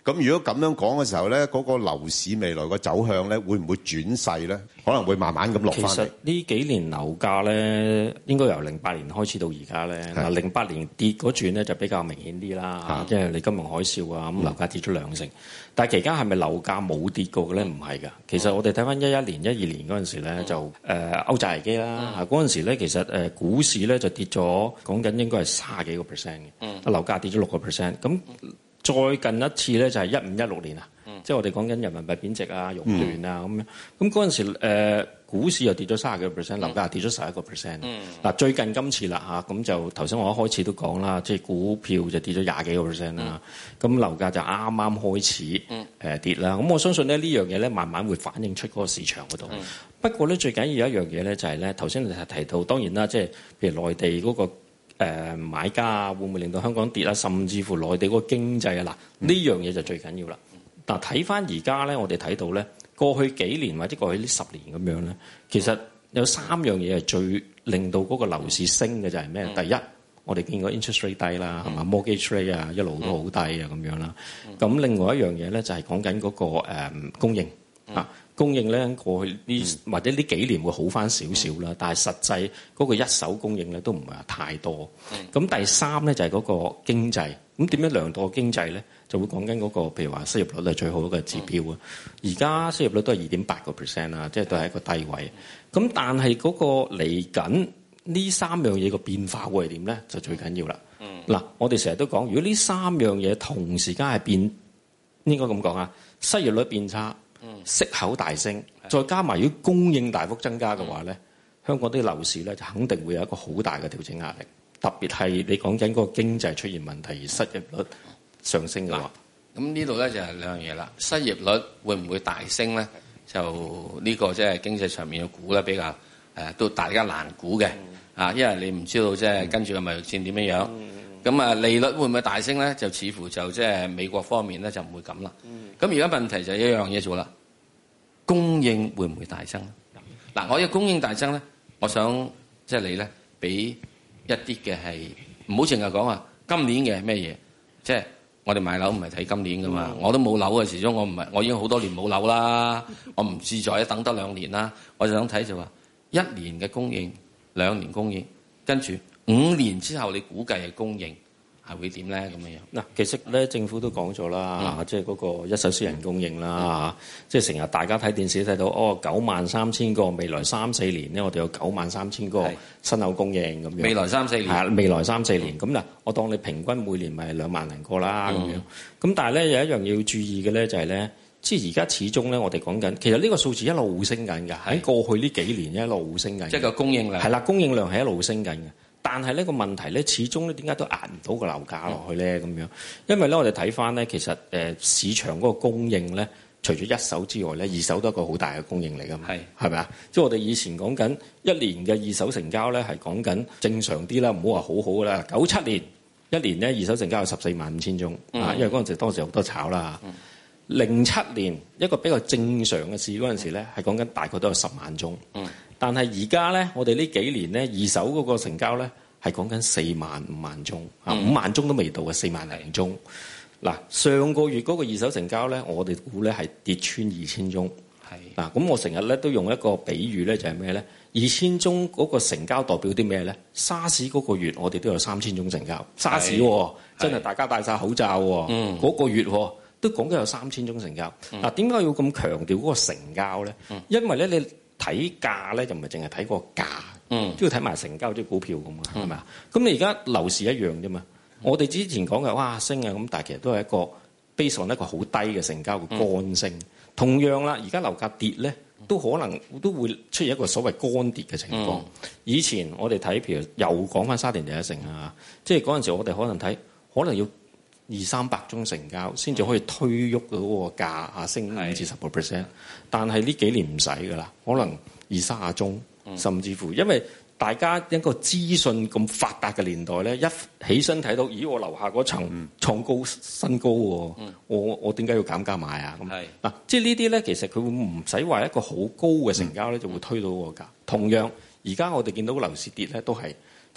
咁如果咁樣講嘅時候咧，嗰個樓市未來個走向咧，會唔會轉勢咧？可能會慢慢咁落翻嚟。 其實呢幾年樓價咧，應該由08年開始到而家咧。嗱，08年跌嗰轉咧就比較明顯啲啦，即係你金融海嘯啊，咁樓價跌咗2成。但係期間係咪樓價冇跌過嘅咧？唔係㗎。其實我哋睇翻11年、12年嗰陣時咧，就歐債危機啦。嗰陣時咧，其實股市咧就跌咗，講緊應該係30幾個%嘅。樓價跌咗6%。咁再近一次咧就係15、16年啊。即係我哋講緊人民幣貶值啊、熔斷啊咁樣。咁嗰陣時股市又跌咗30幾個%，樓價又跌咗11%。嗱，最近今次啦嚇，咁就頭先我一開始都講啦，即係股票就跌咗20幾個%啦。咁樓價就啱啱開始跌啦。咁我相信咧呢樣嘢咧慢慢會反映出嗰個市場嗰度。不過咧最緊要有一樣嘢咧就係咧頭先你提到，當然啦，即係譬如內地嗰個買家啊，會唔會令到香港跌啊？甚至乎內地嗰個經濟啊，嗱呢樣嘢就最緊要啦。嗱，睇翻而家咧，我哋睇到咧，過去幾年或者過去呢10年咁樣咧，其實有3樣嘢係最令到嗰個樓市升嘅就係咩？第一，我哋見過 interest rate 低啦，係嘛？mortgage rate 啊，一路都好低啊，咁樣啦。咁另外一樣嘢咧，就係講緊嗰個供應啊。供應咧過去呢或者呢幾年會好翻少少啦，但係實際嗰個一手供應咧都唔係話太多。咁第3咧就係嗰個經濟。咁點樣量度個經濟咧？就會講緊嗰個譬如話失業率係最好一個指標啊。而家失業率都係2.8%啦，即係都係一個低位。咁但係嗰個嚟緊呢3樣嘢個變化會係點咧？就最緊要啦。嗱，我哋成日都講，如果呢3樣嘢同時間係變，應該咁講啊，失業率變差。息口大升，再加埋如果供應大幅增加嘅話咧，香港啲樓市咧就肯定會有一個好大嘅調整壓力。特別係你講緊嗰個經濟出現問題而失業率上升嘅話， 咁呢度咧就係2樣嘢啦。失業率會唔會大升咧？就呢個即係經濟上面嘅估咧比較都大家難估嘅啊，因為你唔知道即係跟住個貿易戰點樣樣。咁啊，利率會唔會大升咧？就似乎就即係美國方面咧就唔會咁啦。咁而家問題就係一樣嘢做啦，供應會唔會大增？嗱，我嘅供應大增咧，我想即係你咧俾一啲嘅係唔好淨係講話今年嘅係咩嘢，即係我哋買樓唔係睇今年噶嘛，我都冇樓嘅，始終我已經好多年冇樓啦，我唔自在等得2年啦，我就想睇就話1年嘅供應、2年供應，跟住5年之後你估計嘅供應係會點咧？咁樣嗱，其實咧政府都講咗啦，即係嗰個一手私人供應啦，即係成日大家睇電視睇到93000個，未來3-4年咧，我哋有93000個新樓供應咁樣。 未來3-4年係未來3-4年咁嗱，我當你平均每年咪2萬零個啦咁樣。咁但係咧有一樣要注意嘅咧就係咧，即係而家始終咧我哋講緊，其實呢個數字一路升緊㗎，喺過去呢幾年一路升緊。 即係個供應量係啦，供應量係一路升緊嘅。但係呢個問題咧，始終咧點解都壓唔到個樓價落去咧？咁樣，因為咧我哋睇翻咧，其實市場嗰個供應咧，除咗一手之外咧，二手都係一個好大嘅供應嚟㗎嘛。係咪啊？即係我哋以前講緊一年嘅二手成交咧，係講緊正常啲啦，唔好話好好啦。97年一年咧二手成交有145000宗啊，因為當時好多炒啦。07年一個比較正常嘅市嗰陣時咧，係講緊大概都有10萬宗。但係而家咧，我哋呢幾年咧，二手嗰個成交咧係講緊4萬、5萬宗，5萬宗都未到嘅4萬零宗。嗱，上個月嗰個二手成交咧，我哋估咧係跌穿2000宗。嗱，咁我成日咧都用一個比喻咧，就係咩咧？2000宗嗰個成交代表啲咩咧？沙士嗰個月我哋都有3000宗成交，沙士真係大家戴晒口罩喎，嗰個月都講緊有3000宗成交。嗱，點解要咁強調嗰個成交咧？因為咧你睇價咧就唔係淨係睇個價，都要睇埋成交，即係股票咁啊，係咪啊？咁你而家樓市一樣啫嘛。我哋之前講嘅哇升啊咁，但係其實都係一個 base on一個好低嘅成交嘅乾升。同樣啦，而家樓價跌咧，都可能都會出現一個所謂乾跌嘅情況。以前我哋睇譬如又講翻沙田第一城啊，即係嗰陣時我哋可能睇可能要200-300宗成交先至可以推喐到嗰個價啊，升5-10%。但係呢幾年唔使噶啦，可能20-30宗，甚至乎因為大家一個資訊咁發達嘅年代咧，一起身睇到，咦，我樓下嗰層創高新高喎，我點解要減價買啊？咁嗱，即係呢啲咧，其實佢會唔使話一個好高嘅成交咧，就會推到個價。同樣，而家我哋見到樓市跌咧，都係即係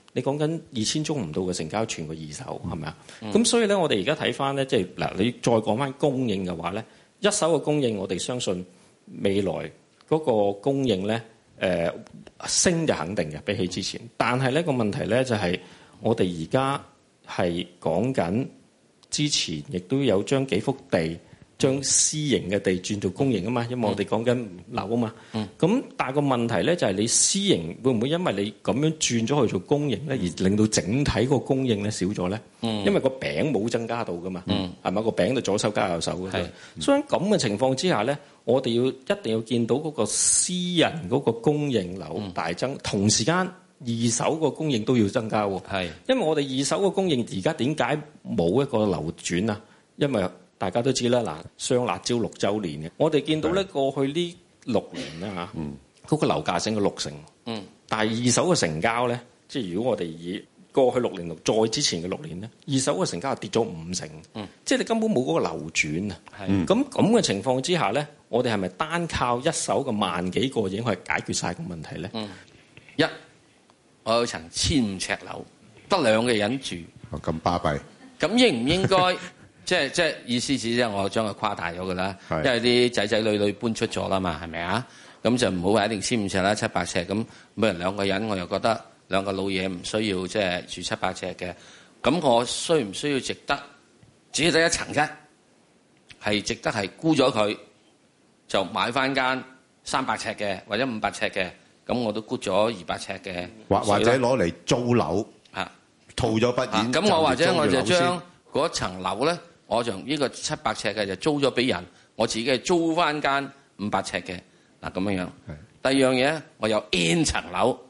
你講緊2000宗唔到嘅成交，全個二手係咪啊？咁所以咧，我哋而家睇翻咧，即係嗱，你再講翻供應嘅話咧，一手嘅供應，我哋相信未來嗰個供應咧，升就肯定嘅，比起之前。但係呢個問題咧就係，我哋而家係講緊之前亦都有將幾幅地，將私營嘅地轉做公營啊嘛，因為我哋講緊樓啊嘛。咁但係個問題咧就係你私營會唔會因為你咁樣轉咗去做公營咧，而令到整體個供應咧少咗咧？因為個餅冇增加到噶嘛，係咪個餅就左手加右手嘅？所以咁嘅情況之下咧，我哋一定要見到嗰個私人嗰個供應樓大增，同時間二手個供應都要增加喎。因為我哋二手個供應而家點解冇一個流轉啊？因為大家都知啦，嗱，雙辣椒6週年嘅，我哋見到咧過去呢6年啦嚇，嗰個樓價升咗6成，但係二手嘅成交咧，即係如果我哋以過去6年再之前嘅6年咧，二手嘅成交係跌咗5成，即係你根本冇嗰個流轉啊。咁嘅情況之下咧，我哋係咪單靠一手嘅萬幾個已經可以解決晒個問題咧？ 一，我有層1500尺樓，得2個人住， 咁巴閉， 咁應唔應該？即係意思即係我將佢誇大咗㗎啦，因為啲仔仔女女搬出咗啦嘛，係咪啊？咁就唔好話一定1500尺啦，700尺咁，每人2個人，我又覺得2個老嘢唔需要即係住700尺嘅。咁我需唔需要值得只係得一層啫？係值得係沽咗佢，就買翻間300尺嘅或者500尺嘅，咁我都沽咗200尺嘅， 或者攞嚟租樓啊，套咗筆錢。咁我或者我就將嗰層樓咧。我就呢個700尺嘅就租咗俾人，我自己係租翻間500尺嘅嗱咁樣樣。第二樣嘢我有 N 層樓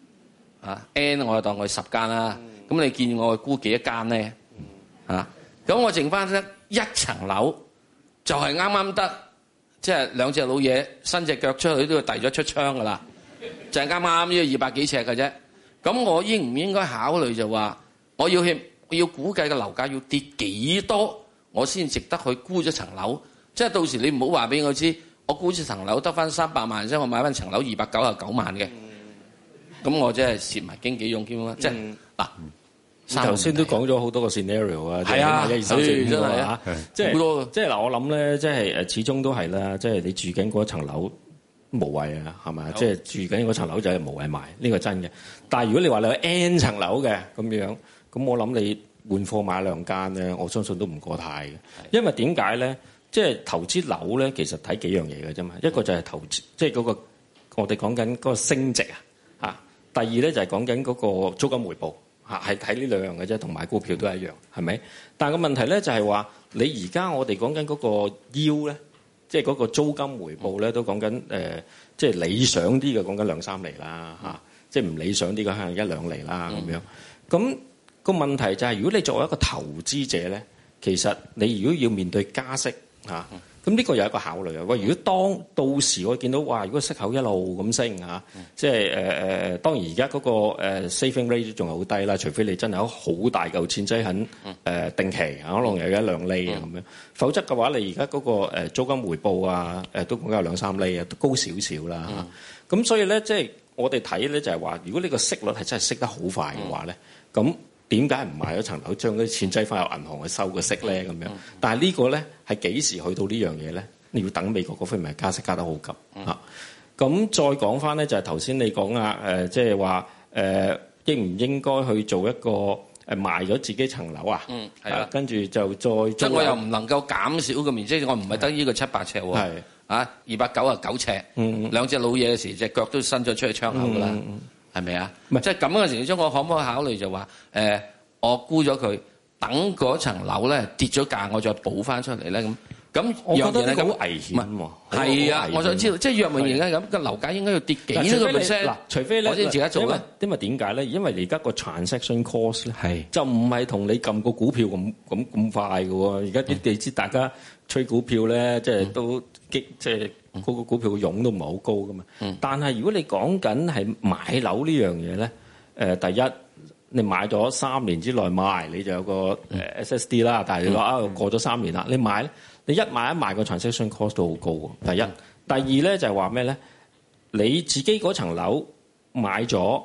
，N 我就當佢10間啦。咁你見我估幾多間咧？咁我剩翻得一層樓，就係啱啱得，即係2隻老嘢伸隻腳出去都要遞咗出窗噶啦，就係啱啱呢個200幾尺嘅啫。咁我應唔應該考慮就話，我要估計嘅樓價要跌幾多？我先值得去沽咗層樓，即係到時你唔好話俾我知，我沽咗層樓得翻300萬啫，我買翻層樓299萬嘅，咁我真係蝕埋經紀用兼啦，即係嗱， 頭先都講咗好多個 scenario 啊， 係啊， 一二三四五真係啊， 即係好多，即係嗱，我諗咧，即係始終都係啦，即係你住緊嗰層樓無謂啊，係咪？即係住緊嗰層樓就係無謂賣，呢個真嘅。但係如果你話你有 N 層樓嘅咁樣，咁我諗你換貨買2間咧，我相信都唔過太嘅。因為點解咧？即係投資樓咧，其實睇幾樣嘢嘅啫嘛。一個就係投資，即係嗰個我哋講緊嗰個升值啊。第二咧就係講緊嗰個租金回報嚇，係睇呢2樣嘅啫，同買股票都係一樣，係咪？但係個問題咧就係話，你而家我哋講緊嗰個 yield咧，即係嗰個租金回報咧，都講緊即係理想啲嘅講緊2-3厘啦嚇，即係唔理想啲嘅可能1-2厘啦咁樣。咁個問題就係，如果你作為一個投資者咧，其實你如果要面對加息嚇，咁呢個有一個考慮啊。喂，如果到時我見到哇，如果息口一路咁升嚇，即係當然而家嗰個saving rate 仲係好低啦，除非你真係有好大嚿錢擠喺定期，可能有1-2厘啊咁樣。否則嘅話，你而家嗰個租金回報啊都講緊有2-3厘啊，都高少少啦。咁所以咧，即係我哋睇咧就係話，如果呢個息率係真係息得好快嘅話咧，咁點解唔買咗層樓，將啲錢擠翻入銀行去收個息咧？咁樣，但係呢個咧係幾時去到呢樣嘢咧？你要等美國嗰方面加息加得好急嚇。咁再講翻咧，就係頭先你講啊，即係話應唔應該去做一個賣咗自己層樓啊？係啦，跟住就再即係我又唔能夠減少個面積，我唔係得呢個700尺喎。係啊，299尺，2隻老嘢嘅時隻腳都伸咗出去窗口㗎啦。係咪啊？唔係即係咁嘅情況中，我可唔可以考慮就話我沽咗佢，等嗰層樓咧跌咗價，我再補翻出嚟咧咁。我覺得呢個好危險喎。係啊，我想知道，即係若無而家咁個樓價應該要跌幾多個 percent？嗱，除非咧，我先自己做咧。因為點解咧？因為你而家個 transaction cost 咧，就唔係同你撳個股票咁快嘅喎。而家你知大家吹股票咧，即係都即係。嗰個股票嘅佣都唔係好高噶嘛，但係如果你講緊係買樓呢樣嘢咧，第一你買咗3年之內賣，你就有個SSD 啦。但係你話過咗3年啦，你買咧，你一買一賣個 transaction cost 都好高喎。第一，第二咧就係話咩咧？你自己嗰層樓買咗，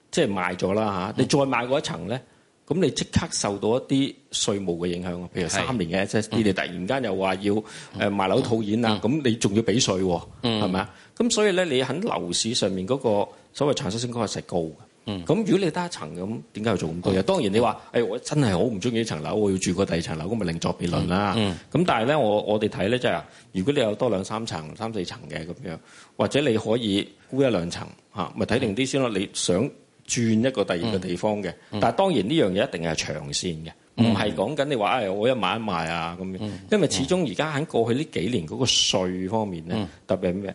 即係賣咗啦嚇，你再買嗰一層咧，咁你即刻受到一啲稅務嘅影響，譬如3年嘅 SSD，你突然間又話要賣樓套現啊，咁你仲要俾稅喎，係咪啊？咁所以咧，你喺樓市上面嗰個所謂transaction cost係高嘅。咁如果你得一層咁，點解要做咁多嘢？當然你話，我真係好唔中意呢層樓，我要住過第二層樓，咁咪另作別論啦。咁但係咧，我哋睇咧就係，如果你有多2、3層、3、4層嘅咁樣，或者你可以沽1、2層嚇，咪睇定啲先咯。你想轉一個第二個地方嘅，但係當然呢樣嘢一定係長線嘅，唔係講緊你話我一買一賣啊咁樣。因為始終而家喺過去呢幾年嗰個稅方面咧，特別係咩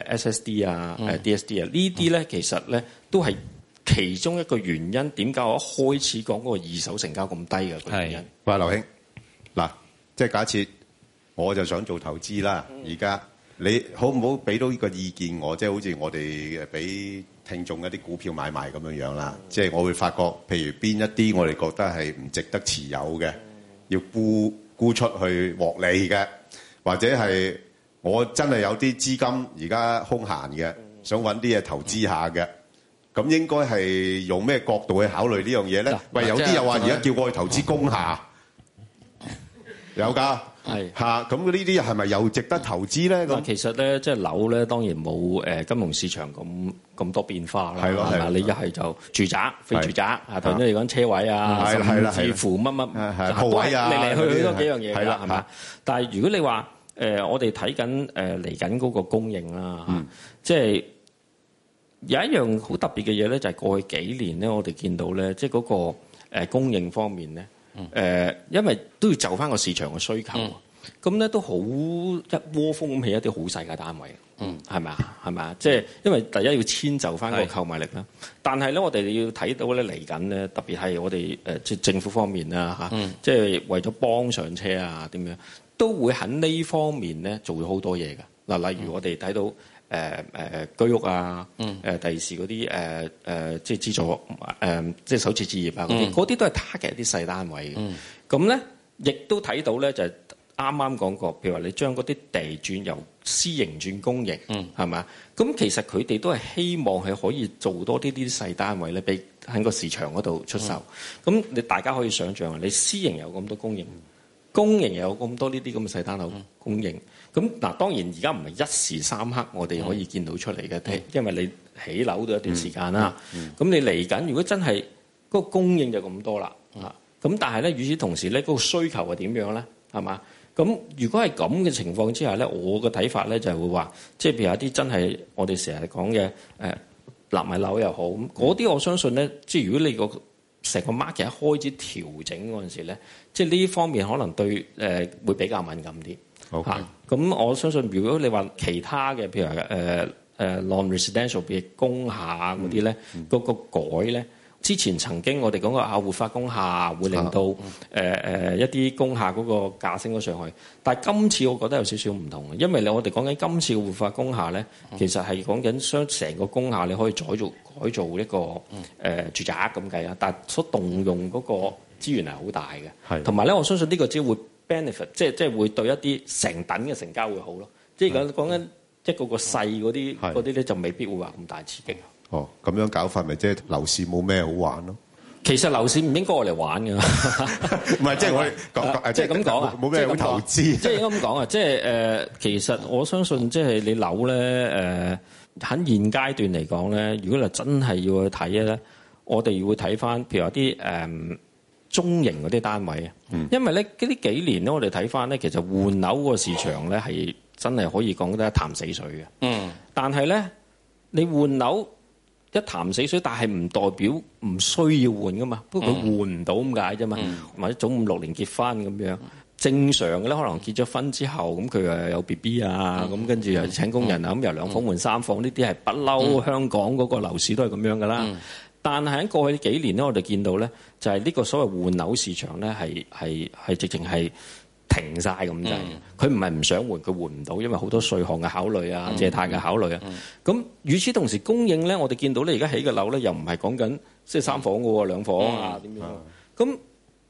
SSD 啊、DSD 啊呢啲咧，其實咧都係其中一個原因，點解我一開始講嗰個二手成交咁低嘅原因？ 喂，劉兄，嗱，即係假設我就想做投資啦，而家你好唔好俾到呢個意見我？即係好似我哋俾聽眾一啲股票買賣咁樣樣啦，即係我會發覺，譬如邊一啲我哋覺得係唔值得持有嘅，要沽出去獲利嘅，或者係我真係有啲資金而家空閒嘅，想揾啲嘢投資下嘅。咁應該係用咩角度去考慮呢樣嘢咧？喂，有啲又話而家叫我去投資工廈，有㗎，係嚇。咁呢啲係咪又值得投資咧？咁其實咧，即係樓咧，當然冇金融市場咁多變化啦。係咯，係嘛？你一係就住宅、非住宅啊，頭先你講車位啊，甚至乎乜鋪位啊， 嚟嚟去去都幾樣嘢㗎，係嘛？但係如果你話我哋睇緊嚟緊嗰個供應啦，即係。有一樣好特別嘅嘢咧，就係過去幾年咧，我哋見到咧，即係嗰個供應方面咧，因為都要就翻個市場嘅需求，咁咧都好一窩蜂咁起一啲好細嘅單位，係咪啊？係咪啊？即係因為第一要遷就翻個購買力啦，但係咧我哋要睇到咧嚟緊咧，特別係我哋即係政府方面啦嚇，即係為咗幫上車啊點樣，都會喺呢方面咧做咗好多嘢㗎。嗱，例如我哋睇到。居屋啊，第二時嗰啲即係資助即係首次置業啊嗰啲都係 target 一啲細單位嘅。咁咧，亦都睇到咧就係啱啱講過，譬如話你將嗰啲地轉由私營轉公營，係咪啊？咁其實佢哋都係希望係可以做多啲細單位咧，俾喺個市場嗰度出售。咁你大家可以想象，你私營有咁多供應，公營有咁多呢啲咁嘅細單樓供應。咁嗱，當然而家唔係一時三刻我哋可以見到出嚟嘅，因為你起樓都一段時間啦。咁你嚟緊，如果真係嗰個供應就咁多啦，咁但係咧，與此同時咧，嗰個需求係點樣咧？係嘛？咁如果係咁嘅情況之下咧，我嘅睇法咧就係會話，即係譬如有啲真係我哋成日講嘅納米樓又好，嗰啲我相信咧，即係如果你個成個 market 一開始調整嗰陣時咧，即係呢方面可能對會比較敏感啲。咁我相信，如果你話其他嘅，譬如話non-residential 嘅工廈嗰啲咧，嗰個改咧，之前曾經我哋講過活化工廈會令到一啲工廈嗰個價升咗上去，但係今次我覺得有少少唔同嘅，因為我哋講緊今次嘅活化工廈咧，其實係講緊將成個工廈你可以改造一個住宅咁計啊，但係所動用嗰個資源係好大嘅，同埋咧我相信呢個只會benefit 即係會對一啲成等嘅成交會好咯，即係講緊一個細嗰啲咧就未必會話咁大刺激。 哦，咁樣搞法咪即係樓市冇咩好玩咯？ 其實樓市唔應該我嚟玩㗎， 唔係即係我哋即係咁講啊， 冇咩好投資。 即係應該咁講啊，即係其實我相信即係你樓咧喺現階段嚟講咧，如果你真係要去睇咧，我哋會睇翻譬如有啲中型嗰啲單位啊，因為咧呢幾年咧，我哋睇翻咧，其實換樓個市場咧係真係可以講得一潭死水嘅。但係咧，你換樓一潭死水，但係唔代表唔需要換噶嘛。不過佢換唔到咁解啫嘛。或者早5、6年結婚咁樣，正常嘅咧，可能結咗婚之後，咁佢又有 BB 啊，咁跟住又請工人啊，咁由2房換3房，呢啲係不嬲香港嗰個樓市都係咁樣噶啦。但係喺過去幾年咧，我哋見到咧，就係呢個所謂換樓市場咧，係直情係停晒咁滯。佢唔係唔想換，佢換唔到，因為好多稅項嘅考慮啊、借貸嘅考慮啊。咁與此同時，供應咧，我哋見到咧，而家起嘅樓咧，又唔係講緊即係3房嘅喎，2房啊點樣？咁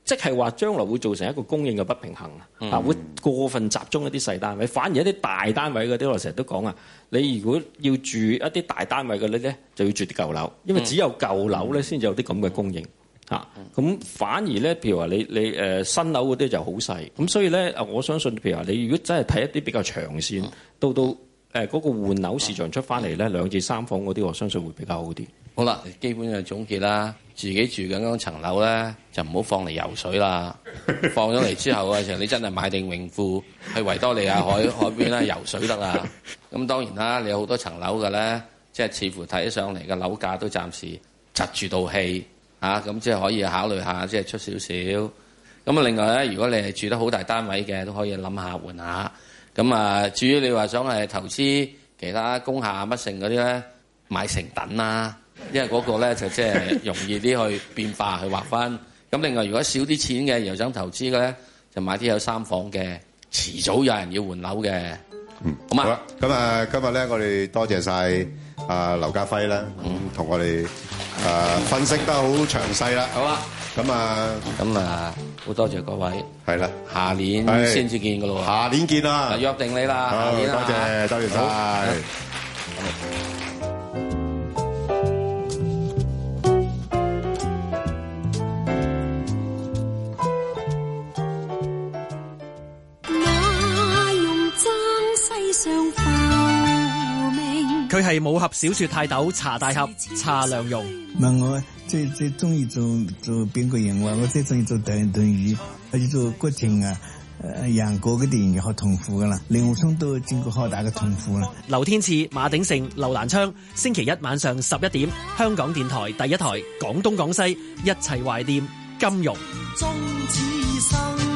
即係話將來會造成一個供應嘅不平衡會過分集中一啲細單位，反而一啲大單位嗰啲，我成日都講你如果要住一啲大單位嗰啲咧，就要住啲舊樓，因為只有舊樓咧先至有啲咁嘅供應咁反而咧，譬如話你新樓嗰啲就好細，咁所以咧我相信譬如話你如果真係睇一啲比較長線，到嗰個換樓市場出翻嚟咧，2至3房嗰啲，我相信會比較好啲。 好啦，基本就總結啦，自己住緊嗰層樓咧，就唔好放嚟游水啦。放咗嚟之後嘅時候，你真係買定泳褲去維多利亞海邊啦游水得啦。咁當然啦，你有好多層樓嘅咧，即係似乎睇上嚟嘅樓價都暫時窒住道氣咁即係可以考慮下，即係出少少。咁啊，另外咧，如果你係住得好大單位嘅，都可以諗下換下。咁啊，至於你話想係投資其他工廈乜剩嗰啲咧，買成等啦。因為嗰個咧就即係容易啲去變化去劃分。咁另外如果少啲錢嘅又想投資嘅咧，就買啲有3房嘅，遲早有人要換樓嘅。好啦， 咁今日咧我哋多謝晒劉家輝啦，同我哋分析得好詳細啦。 好啦，咁好多謝各位。 係啦， 下年先至見噶咯喎。 下年見啦， 約定你啦。 好， 下年多謝晒。 佢係武俠小說泰斗查大俠查良鏞。 問我最中意做邊個人話，我最中意做鄧宇，或者做郭靖楊過嘅電影好痛苦噶啦，令狐沖都經過好大嘅痛苦啦。 劉天賜、馬鼎盛、劉蘭昌，星期一晚上11點，香港電台第一台，廣東廣西一齊懷念金庸。